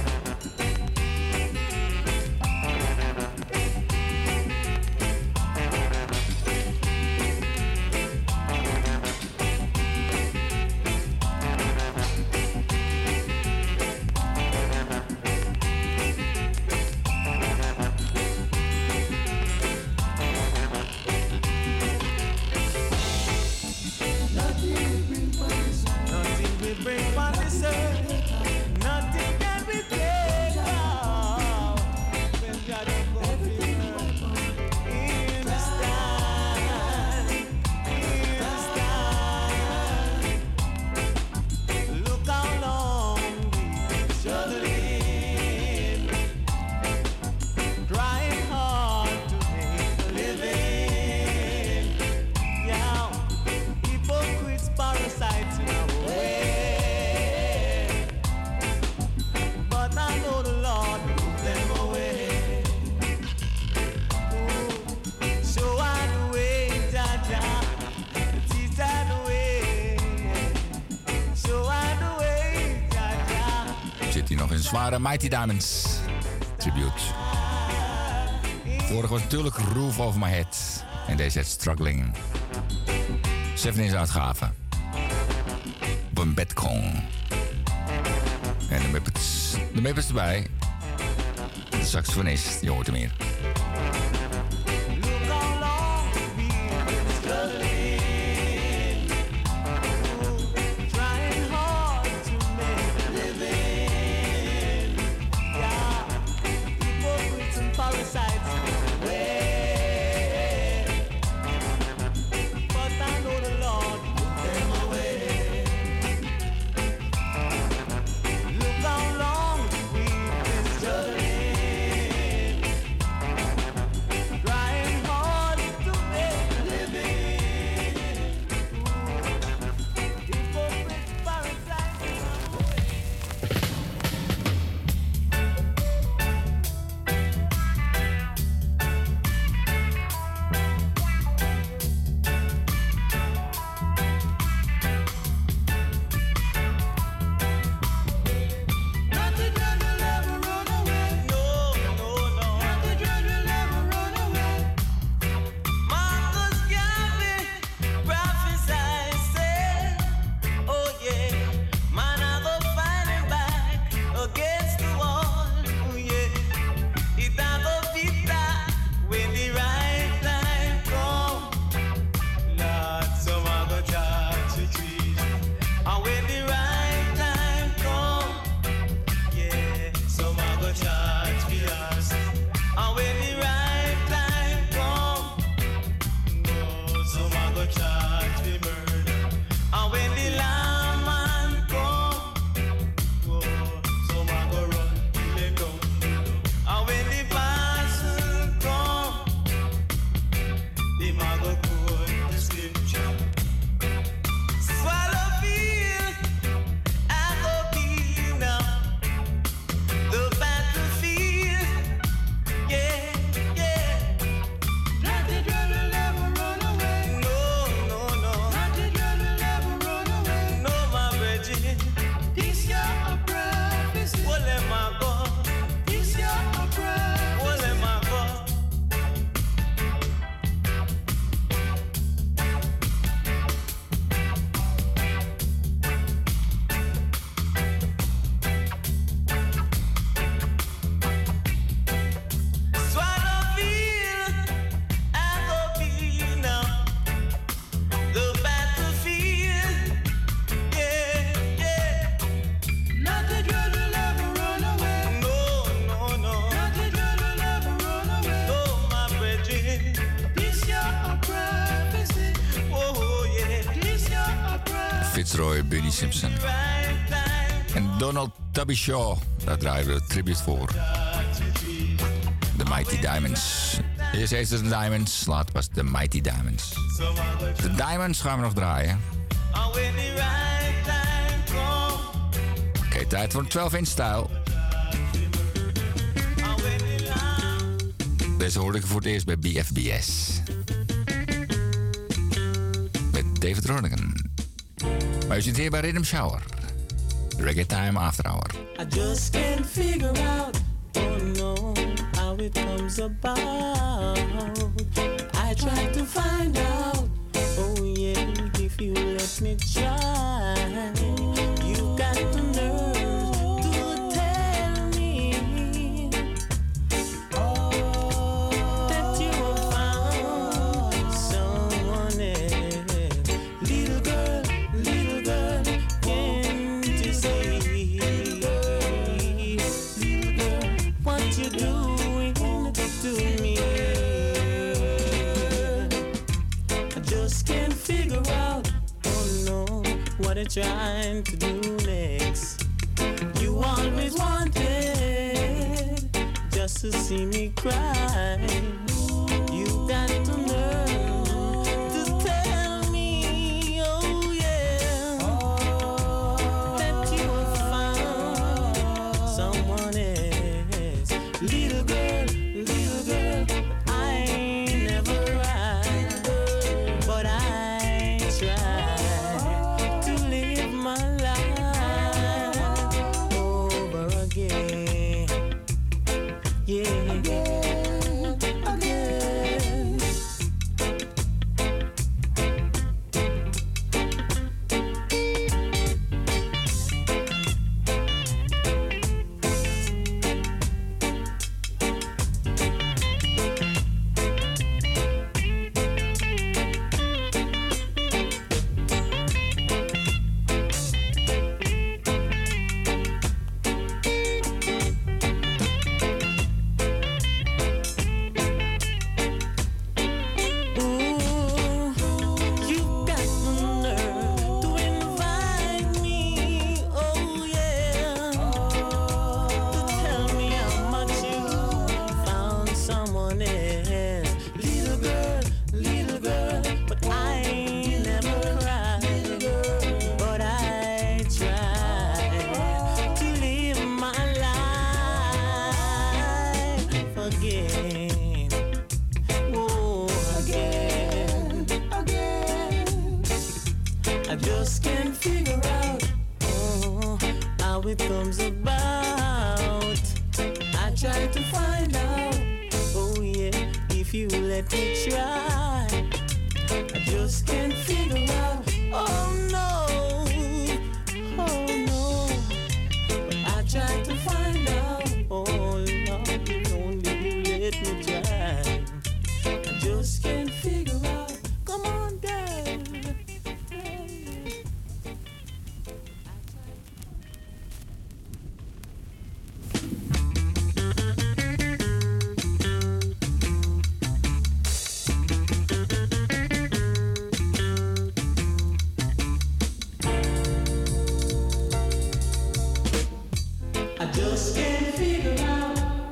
Nothing will bring on this earth, nothing can be taken out when God comes to earth. In this time, in this time, look how long we've been struggling, trying hard to make a living. Yeah, hypocrites, parasites in our way, but I know the Lord will move them away. Ooh, show I the way, Jaja, teach I the way. Show I the way, Jaja.
Zit hier nog een zware Mighty Diamonds tribute. Vorige was natuurlijk Roof Over My Head. En deze heet Struggling. 7 uitgave. Op een bedkong. En de Muppets erbij. De saxofonist, je hoort hem hier.
Look how long we've been struggling, trying hard to make a living. Yeah, hypocrites and parasites in the way, but I know the Lord will move them away. Look how long we've been struggling,
Destroy, Bunny Simpson. En Donald Tubby Shaw, daar draaien we de tribute voor. The Mighty Diamonds. Eerst heet het de Diamonds, later was het de Mighty Diamonds. De Diamonds gaan we nog draaien. Oké, tijd voor een 12-inch stijl. Deze hoorde ik voor het eerst bij BFBS. Met David Rodigan. Maar u zit hier bij Rhythm Shower. Reggae Time After Hour.
I just can't figure out, oh no, how it comes about. I try to find out, oh yeah, if you let me try. You got the nerve to tell me that you have found someone else. Little girl, can't you see? Little girl, what you doing to me? I just can't figure out, oh no, what I'm trying to do next. You always wanted just to see me cry. You got to nerve to tell me, oh yeah, that you have found someone else. Little girl, I ain't never cried, but I try to live my life over again. Yeah, again. I just can't figure out, oh, how it comes about. I try to find out, oh yeah, if you let me try. I just can't figure out, oh no, but I try to find out, oh Lord, if only you let me try. I just can't figure out, come on girl. I just can't figure out.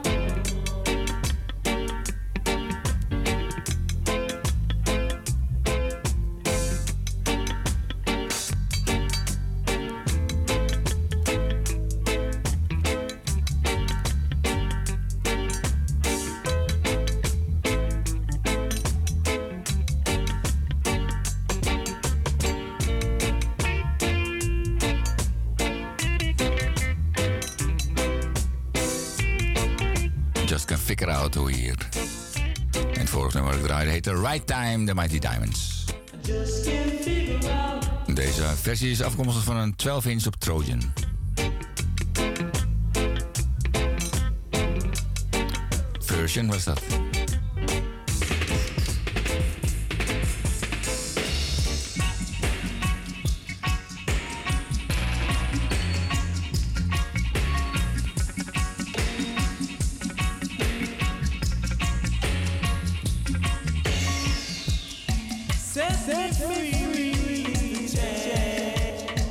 Just Can Figure Out hoe hier. En het vorige nummer dat ik draaide heette Right Time, The Mighty Diamonds. Deze versie is afkomstig van een 12-inch op Trojan. Version was dat.
Set me free,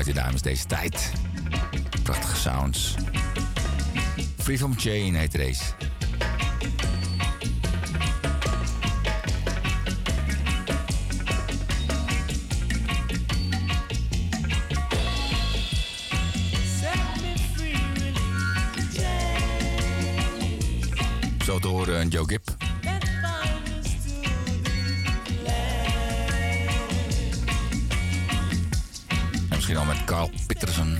Mighty Diamonds deze tijd. Prachtige sounds. Free From Chain heet deze. Zo te horen Joe Gibb. En misschien al met Carl Peterson.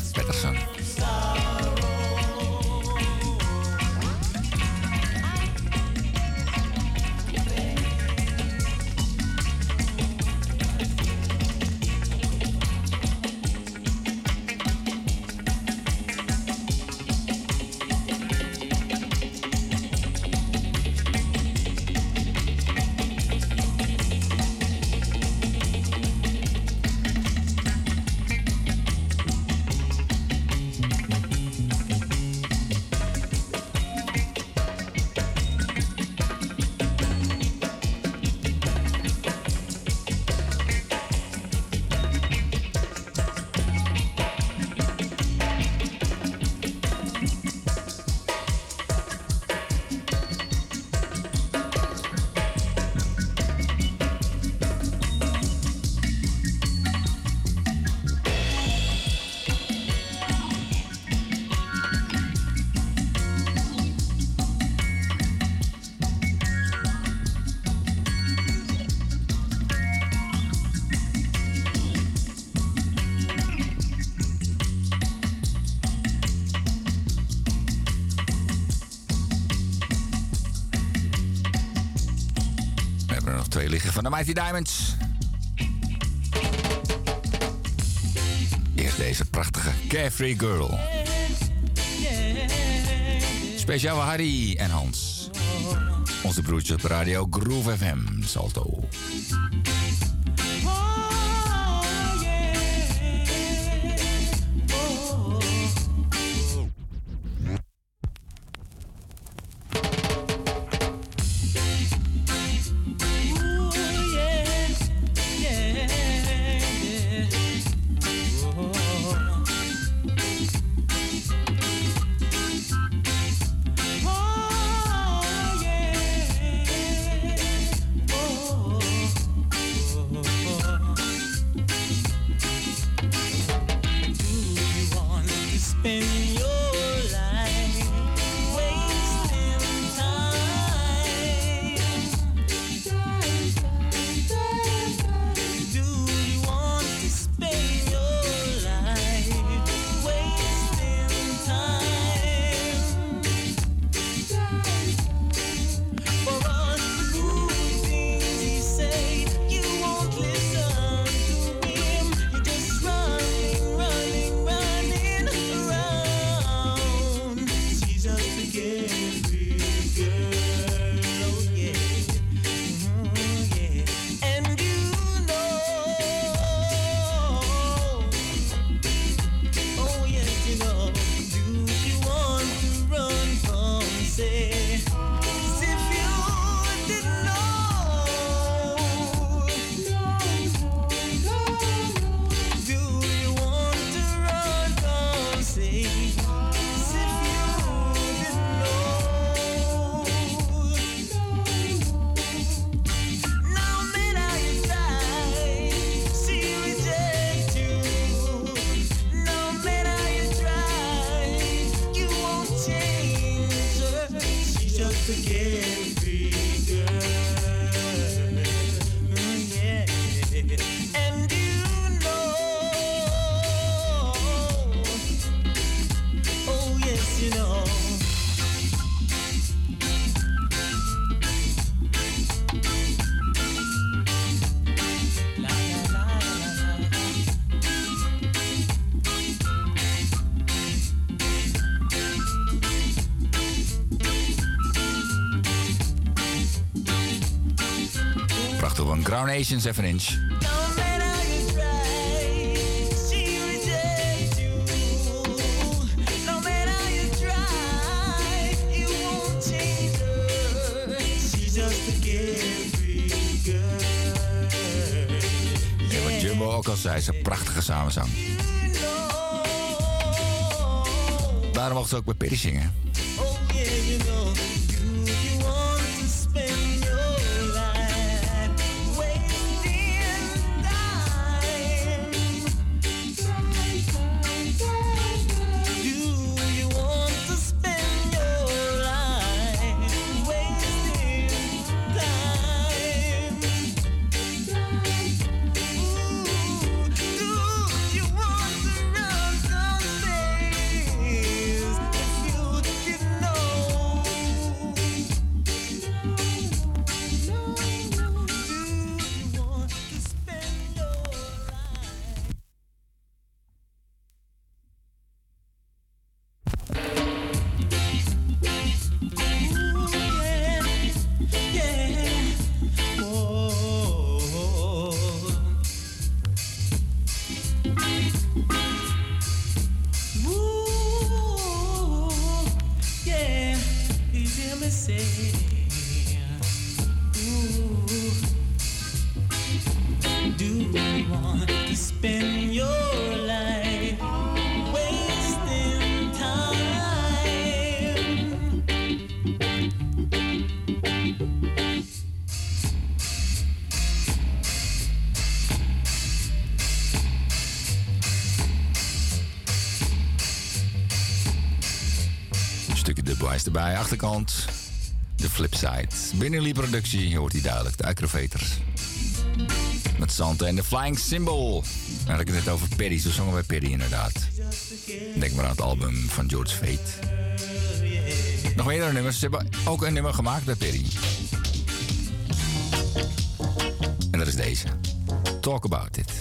Van de Mighty Diamonds. Eerst deze prachtige Carefree Girl. Speciaal voor Harry en Hans. Onze broertjes op radio Groove FM, Salto. Crown Nation 7-inch. Ja, wat Jumbo ook al zei, is een prachtige samenzang. Daarom mocht ze ook bij Perry zingen.
Oh yeah, you know, you want to spend your life wasting time. Do you want to spend your life wasting time? Ooh, do you want to run someday? Do you want to spend your life wasting time?
Een stukje dubwise erbij, achterkant. De flipside. Binnenlie productie hoort hij duidelijk. De Acrovators. Met Santa en de Flying Symbol. Dan had ik het net over Perry. Zo zongen wij Perry inderdaad. Denk maar aan het album van George Fate. Nog meerdere nummers. Ze hebben ook een nummer gemaakt bij Perry. En dat is deze. Talk About It.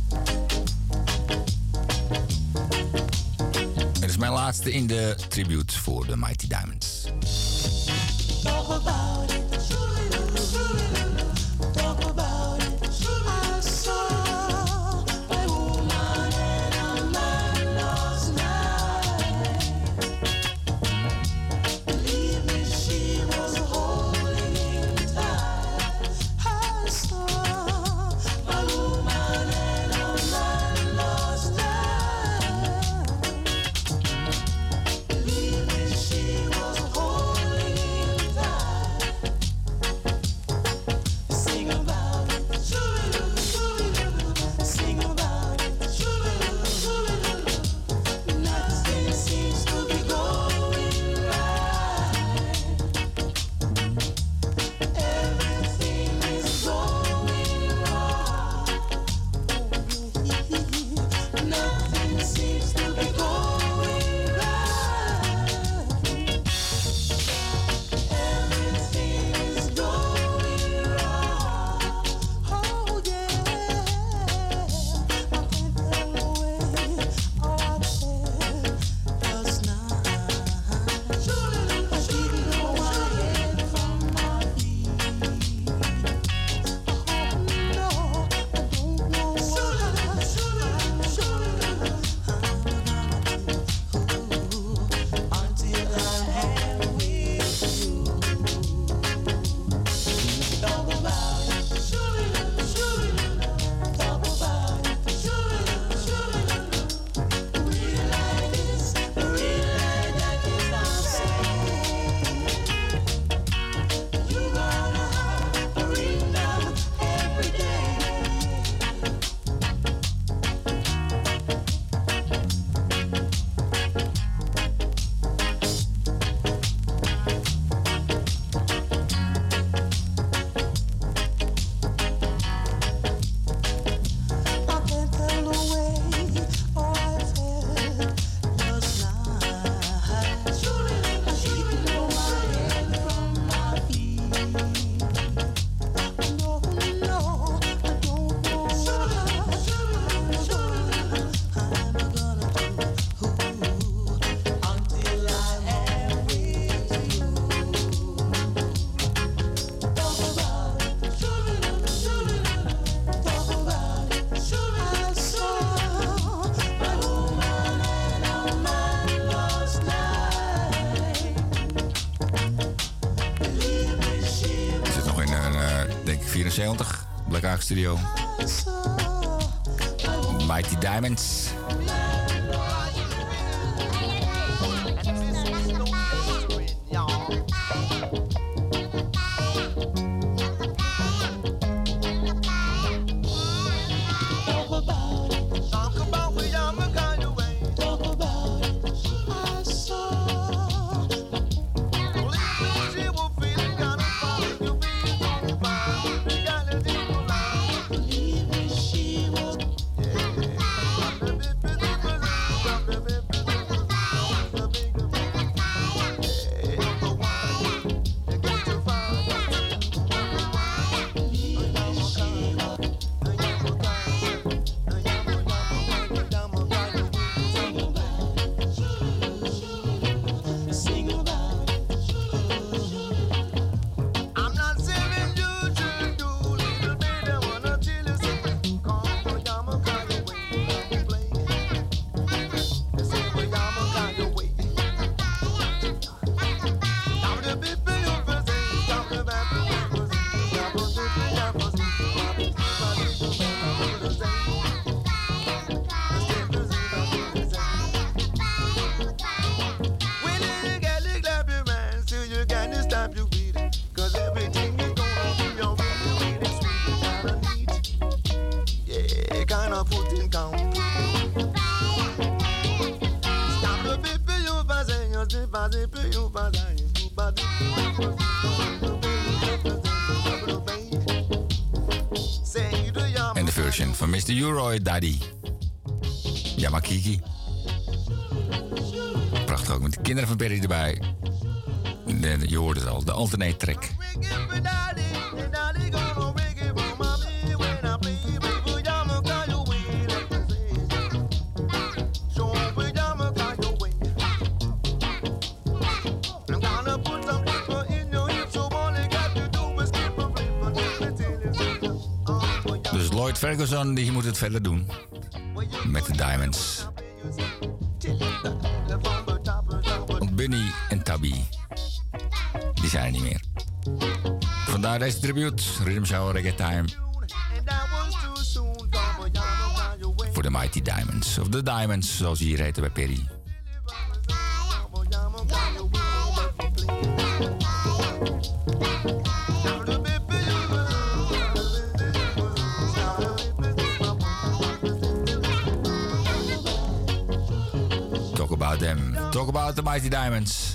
Het is mijn laatste in de tribute voor de Mighty Diamonds.
Talk about it. Talk about it. I saw a woman and a man last night. Believe me, she was holding him tight. I saw a woman and a man last night. Believe me, she was holding him tight. Sing about it, sing about it. Nothing seems to be going right. Everything is going wrong. Nothing seems to be going right. Everything is going wrong. Oh yeah, I can't tell away all I felt last night. I didn't know my head from my feet. Oh no, I don't know what I'm until I am with you. Talk about it. Talk about it. Real life is real life that is unsafe. You gotta have a real love every day. I can't tell away all I felt last night. I didn't know my head from my feet. No, no, I don't know what I'm gonna do until I am with you. Talk about it. Talk about it. I saw a woman and a man last night. Believe me, she
Ik zit nog in, denk ik, 74. Black Ark Studio. Mighty Diamonds.
gonna put in count. Stop the people you pass and you see pass the people you pass and you pass
En de version van Mr. U-Roy Daddy. Yamakiki. Prachtig ook met de kinderen van Perry erbij. Je hoort het al, de alternate track. Dus Lloyd Ferguson die moet het verder doen met de Diamonds. Want Bunny en Tabby die zijn er niet meer. Vandaar deze tribute, Rhythm Shower Reggae Time. Voor de Mighty Diamonds, of de Diamonds zoals ze hier heten bij Perry. Talk about them, talk about the Mighty Diamonds.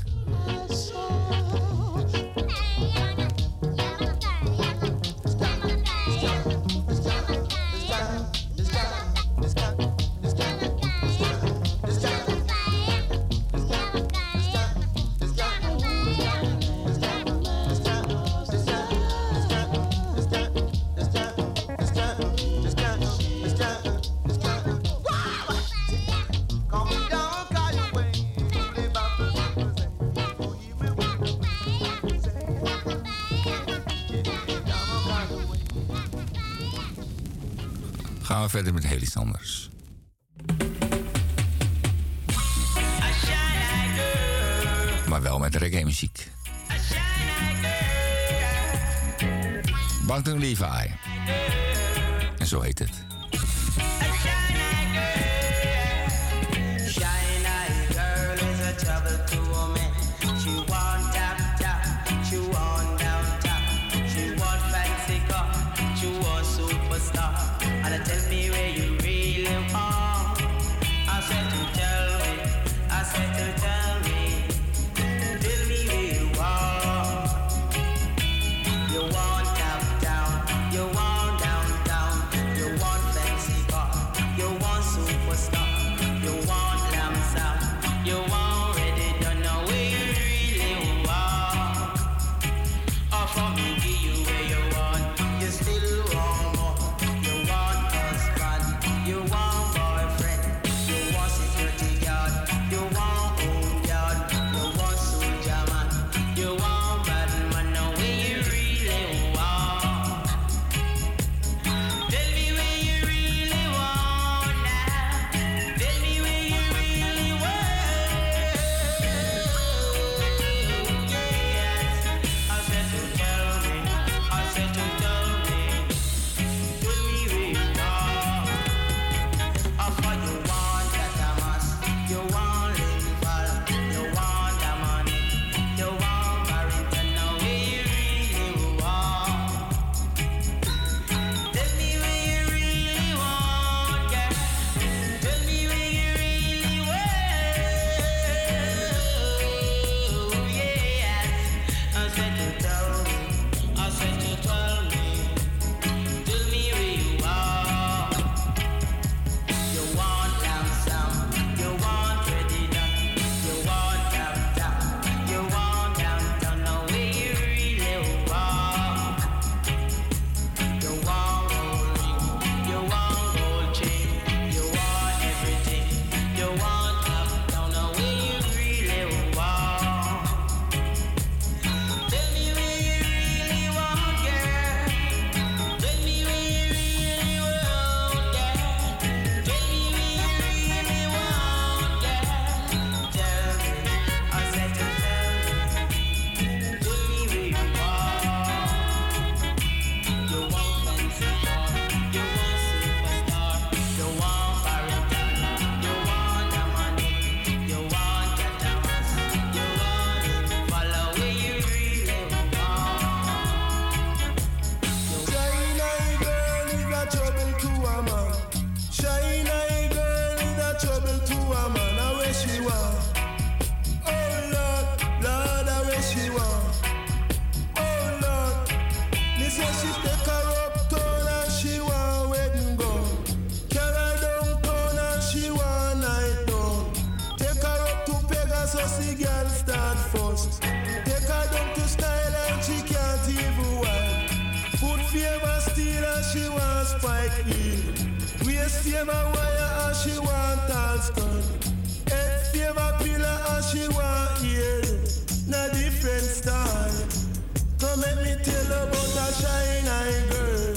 Gaan we verder met heel iets anders. Maar wel met reggae muziek. Banton Levi. En zo heet het.
You
favor wire and she want all skirt. Head favor pillar and she want ear. Na different style. Come let me tell about a shine eye girl.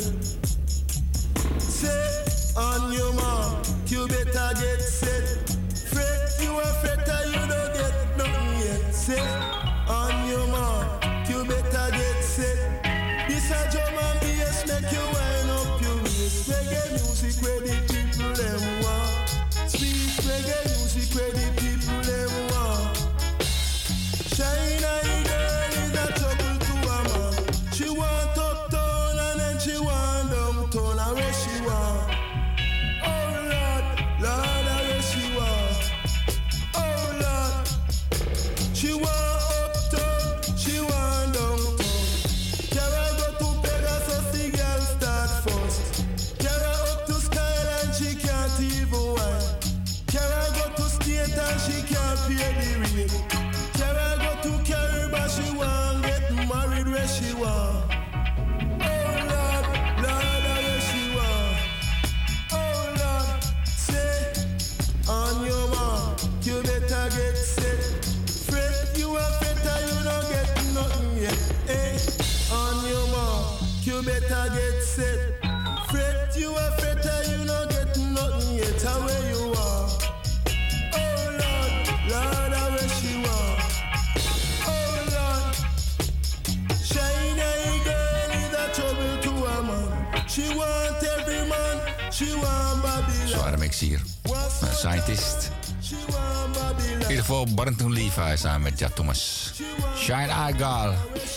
Say on your mark, you better get set. Fret, you a fretter, you don't get nothing yet. Say on your mark, you better get set. This a drum and bass make you wind up your waist. Reggae music where the people them want. Sweet reggae music where the people them want. Shine eye girl is a trouble to a man. She want uptown and then she want downtown. And where she want? Oh Lord, Lord, and where she want? Oh Lord, she want uptown, she want downtown. Carry go to Pegasus, the girl start first. Carry up to Skyline, she can't even wine. Carry go to State and she can't pay the rate. Carry go to Caribbean, she want get married where she want. Oh Lord, Lord, where she want. Oh Lord, say on your mark, you better get set. Fret, you a fetter, you don't get nothing yet. Hey, on your mark, you better get set. Fret, you a fetter, you don't get nothing yet. How where you are? Oh Lord, Lord, where she want. Oh Lord, shine eye girl is a trouble to a man. She want every man, she want Babylon.
Zware mix hier. Een Scientist. In ieder geval Barrington Levi samen met Jack Thomas. Shine Eye Girl.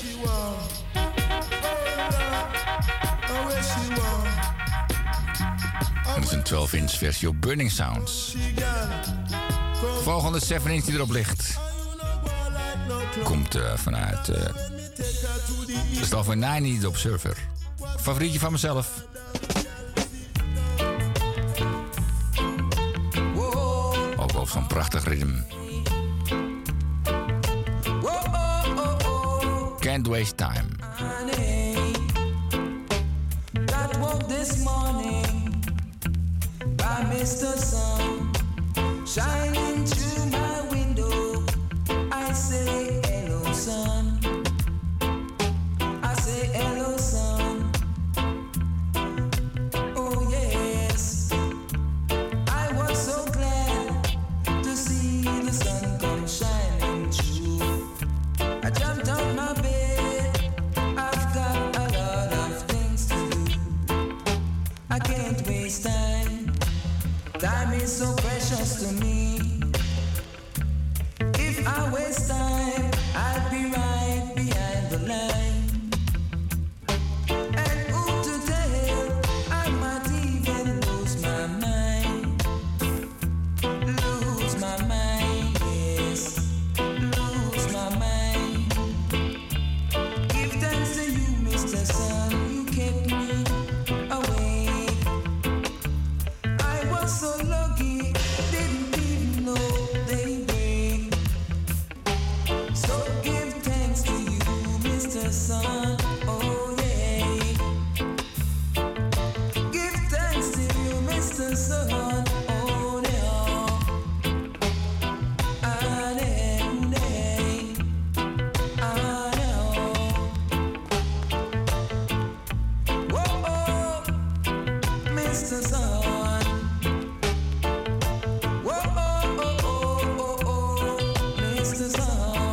Dat is een 12-inch versie op Burning Sounds. Volgende 7-inch die erop ligt. Komt vanuit de stal van 90 Observer. Favorietje van mezelf. Ook op zo'n prachtig ritme. Can't waste time.
That woke this morning by Mr. Sun shining through my window. I say hello, sun. I say hello, sun. Oh yes, I was so glad to see the sun come shining through. I jumped out my bed. I've got a lot of things to do. I can't waste time. Time is so precious to me. If I waste time, I'd be right behind the line. And who to tell? I might even lose my mind. Lose my mind, yes. Lose my mind. Give thanks to you, Mr. Sun. You kept me awake. I was so lucky, didn't even know they break. So give thanks to you, Mr. Sun. Oh yeah. Give thanks to you, Mr. Sun. Oh yeah. Ah, yeah, yeah. Ah, yeah. Whoa, oh, Mr. Sun. Whoa, oh, oh, oh, oh, oh, Mr. Sun.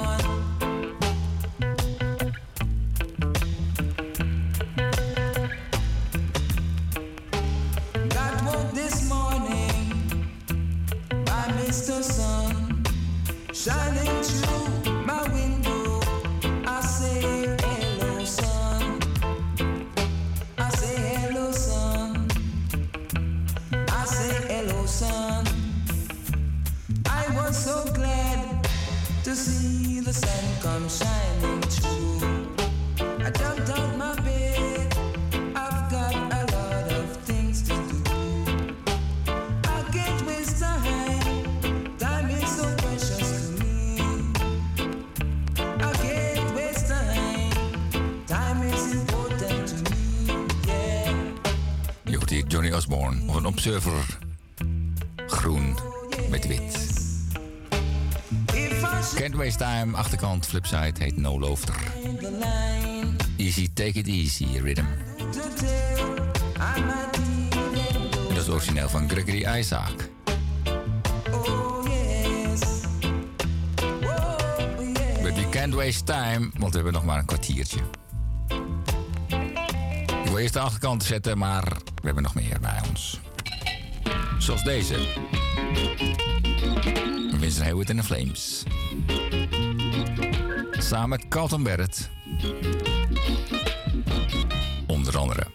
Got woke this morning by Mr. Sun shining through my window. I say hello, sun. I say hello, sun. I say hello, sun. I was so glad to see the sun come shining through. I jumped out my bed. I've got a lot of things to do. I can't waste time. Time is so precious to me. I can't waste time. Time is important to me. Yeah.
Je hoort hier Johnny Osborne. Of een observer groen met wit. Can't Waste Time, achterkant, flipside, heet No Loafter. Easy, take it easy, rhythm. Dat is origineel van Gregory Isaac. We can't waste time, want we hebben nog maar een kwartiertje. Ik wil eerst de achterkant zetten, maar we hebben nog meer bij ons. Zoals deze. Vincent Hayward in the Flames. Samen met Carlton Barrett. Onder andere.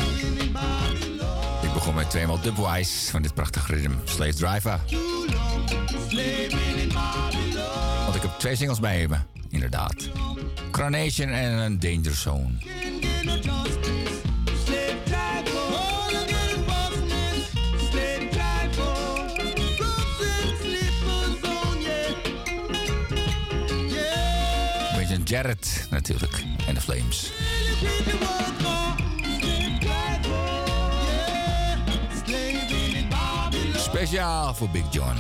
Tweemaal Dubwise van dit prachtige ritme. Slave Driver.
slaving in Babylon.
Want ik heb 2 singles bij me, inderdaad. Coronation en een Danger Zone.
Get no justice, slave driver. All again business, slave driver. Drugs and slippers on, yeah. Yeah.
Beetje Jared natuurlijk en de Flames. Speciaal voor Big John.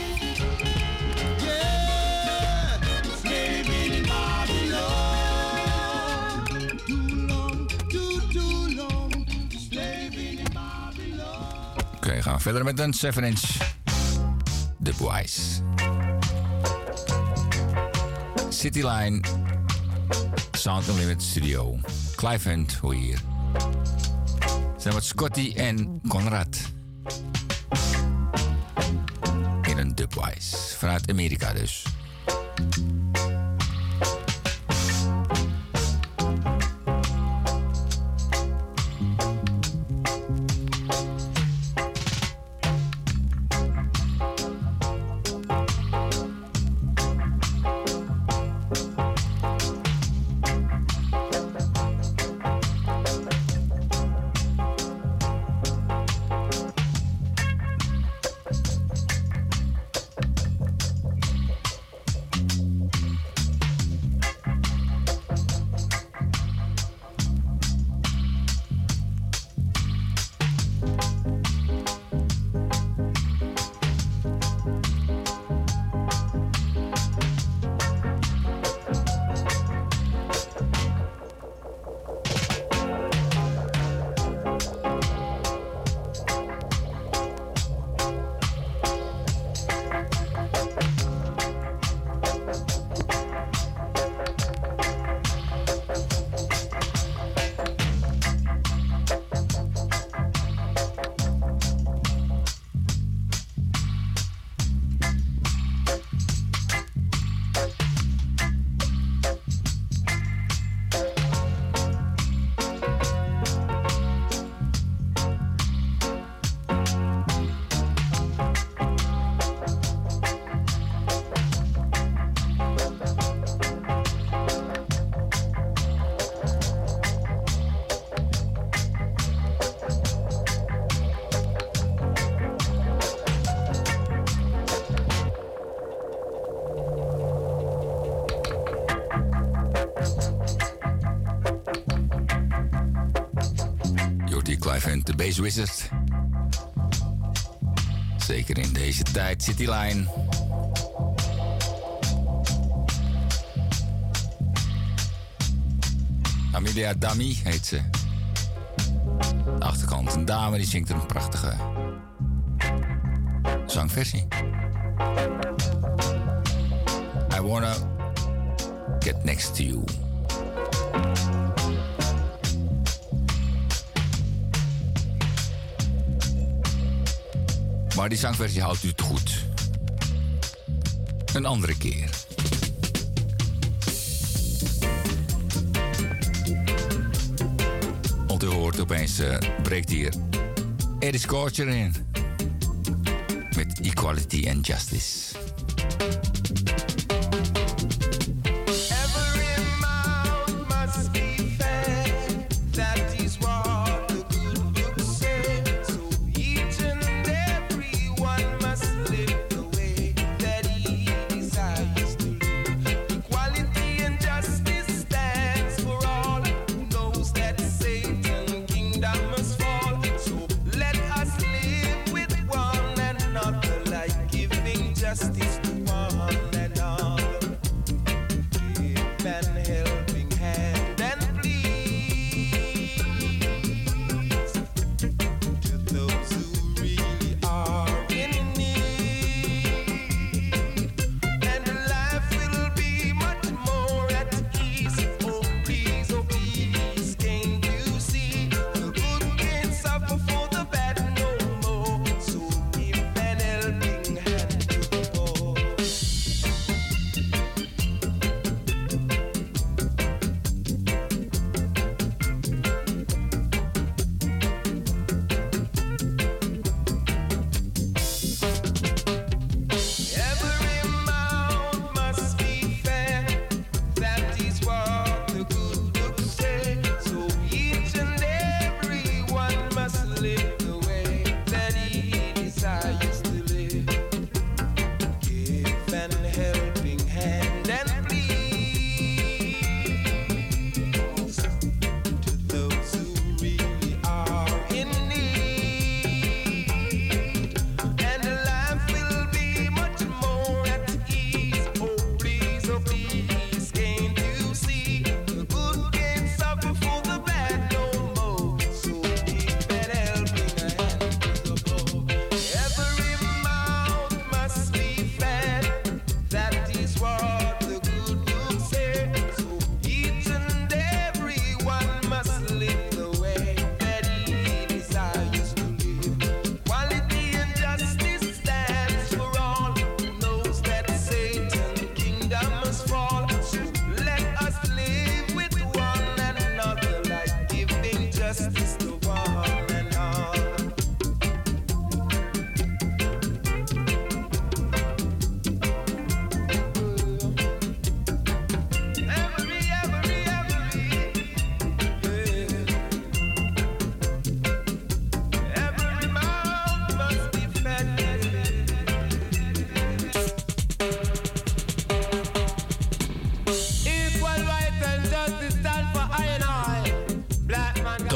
Oké, gaan we verder met een 7-inch Dubwise. Cityline Sound Unlimited Studio. Clive Hunt, hoor je hier. Zijn met Scotty en Conrad. In een Dubwise. Vanuit Amerika dus. De Bass Wizard. Zeker in deze tijd, Cityline. Amelia Dami heet ze. De achterkant, een dame die zingt een prachtige zangversie. I wanna get next to you. Maar die zangversie houdt u te goed. Een andere keer. Want u hoort opeens, breekt hier Eddie Scorcher in. Met Equality and Justice.
Justice to one.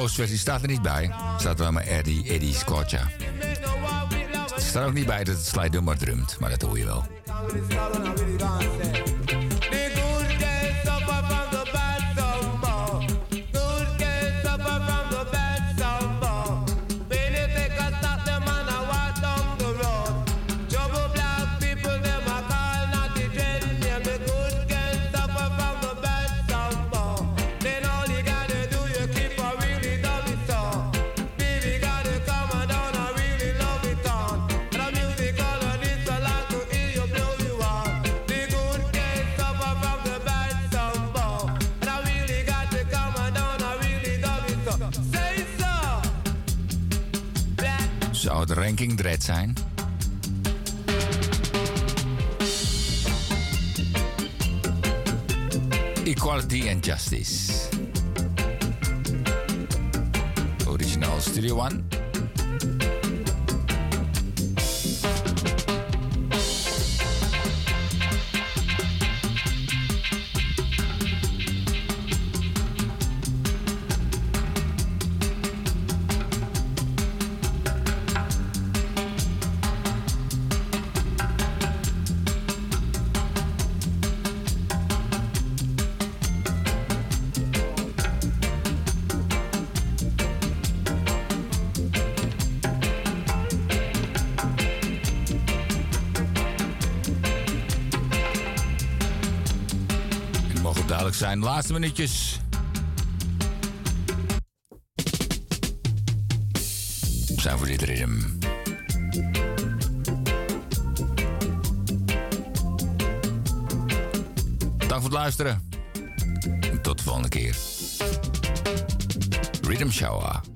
Ghost versie staat er niet bij. Staat wel maar Eddie Scorcha. Er staat ook niet bij dat het Sly Dunbar drumt, maar dat hoor je wel. Zou het Ranking Dread zijn? Equality and Justice. Original Studio One. Zijn laatste minuutjes. Zijn voor dit ritme. Dank voor het luisteren. Tot de volgende keer. Rhythm Shower.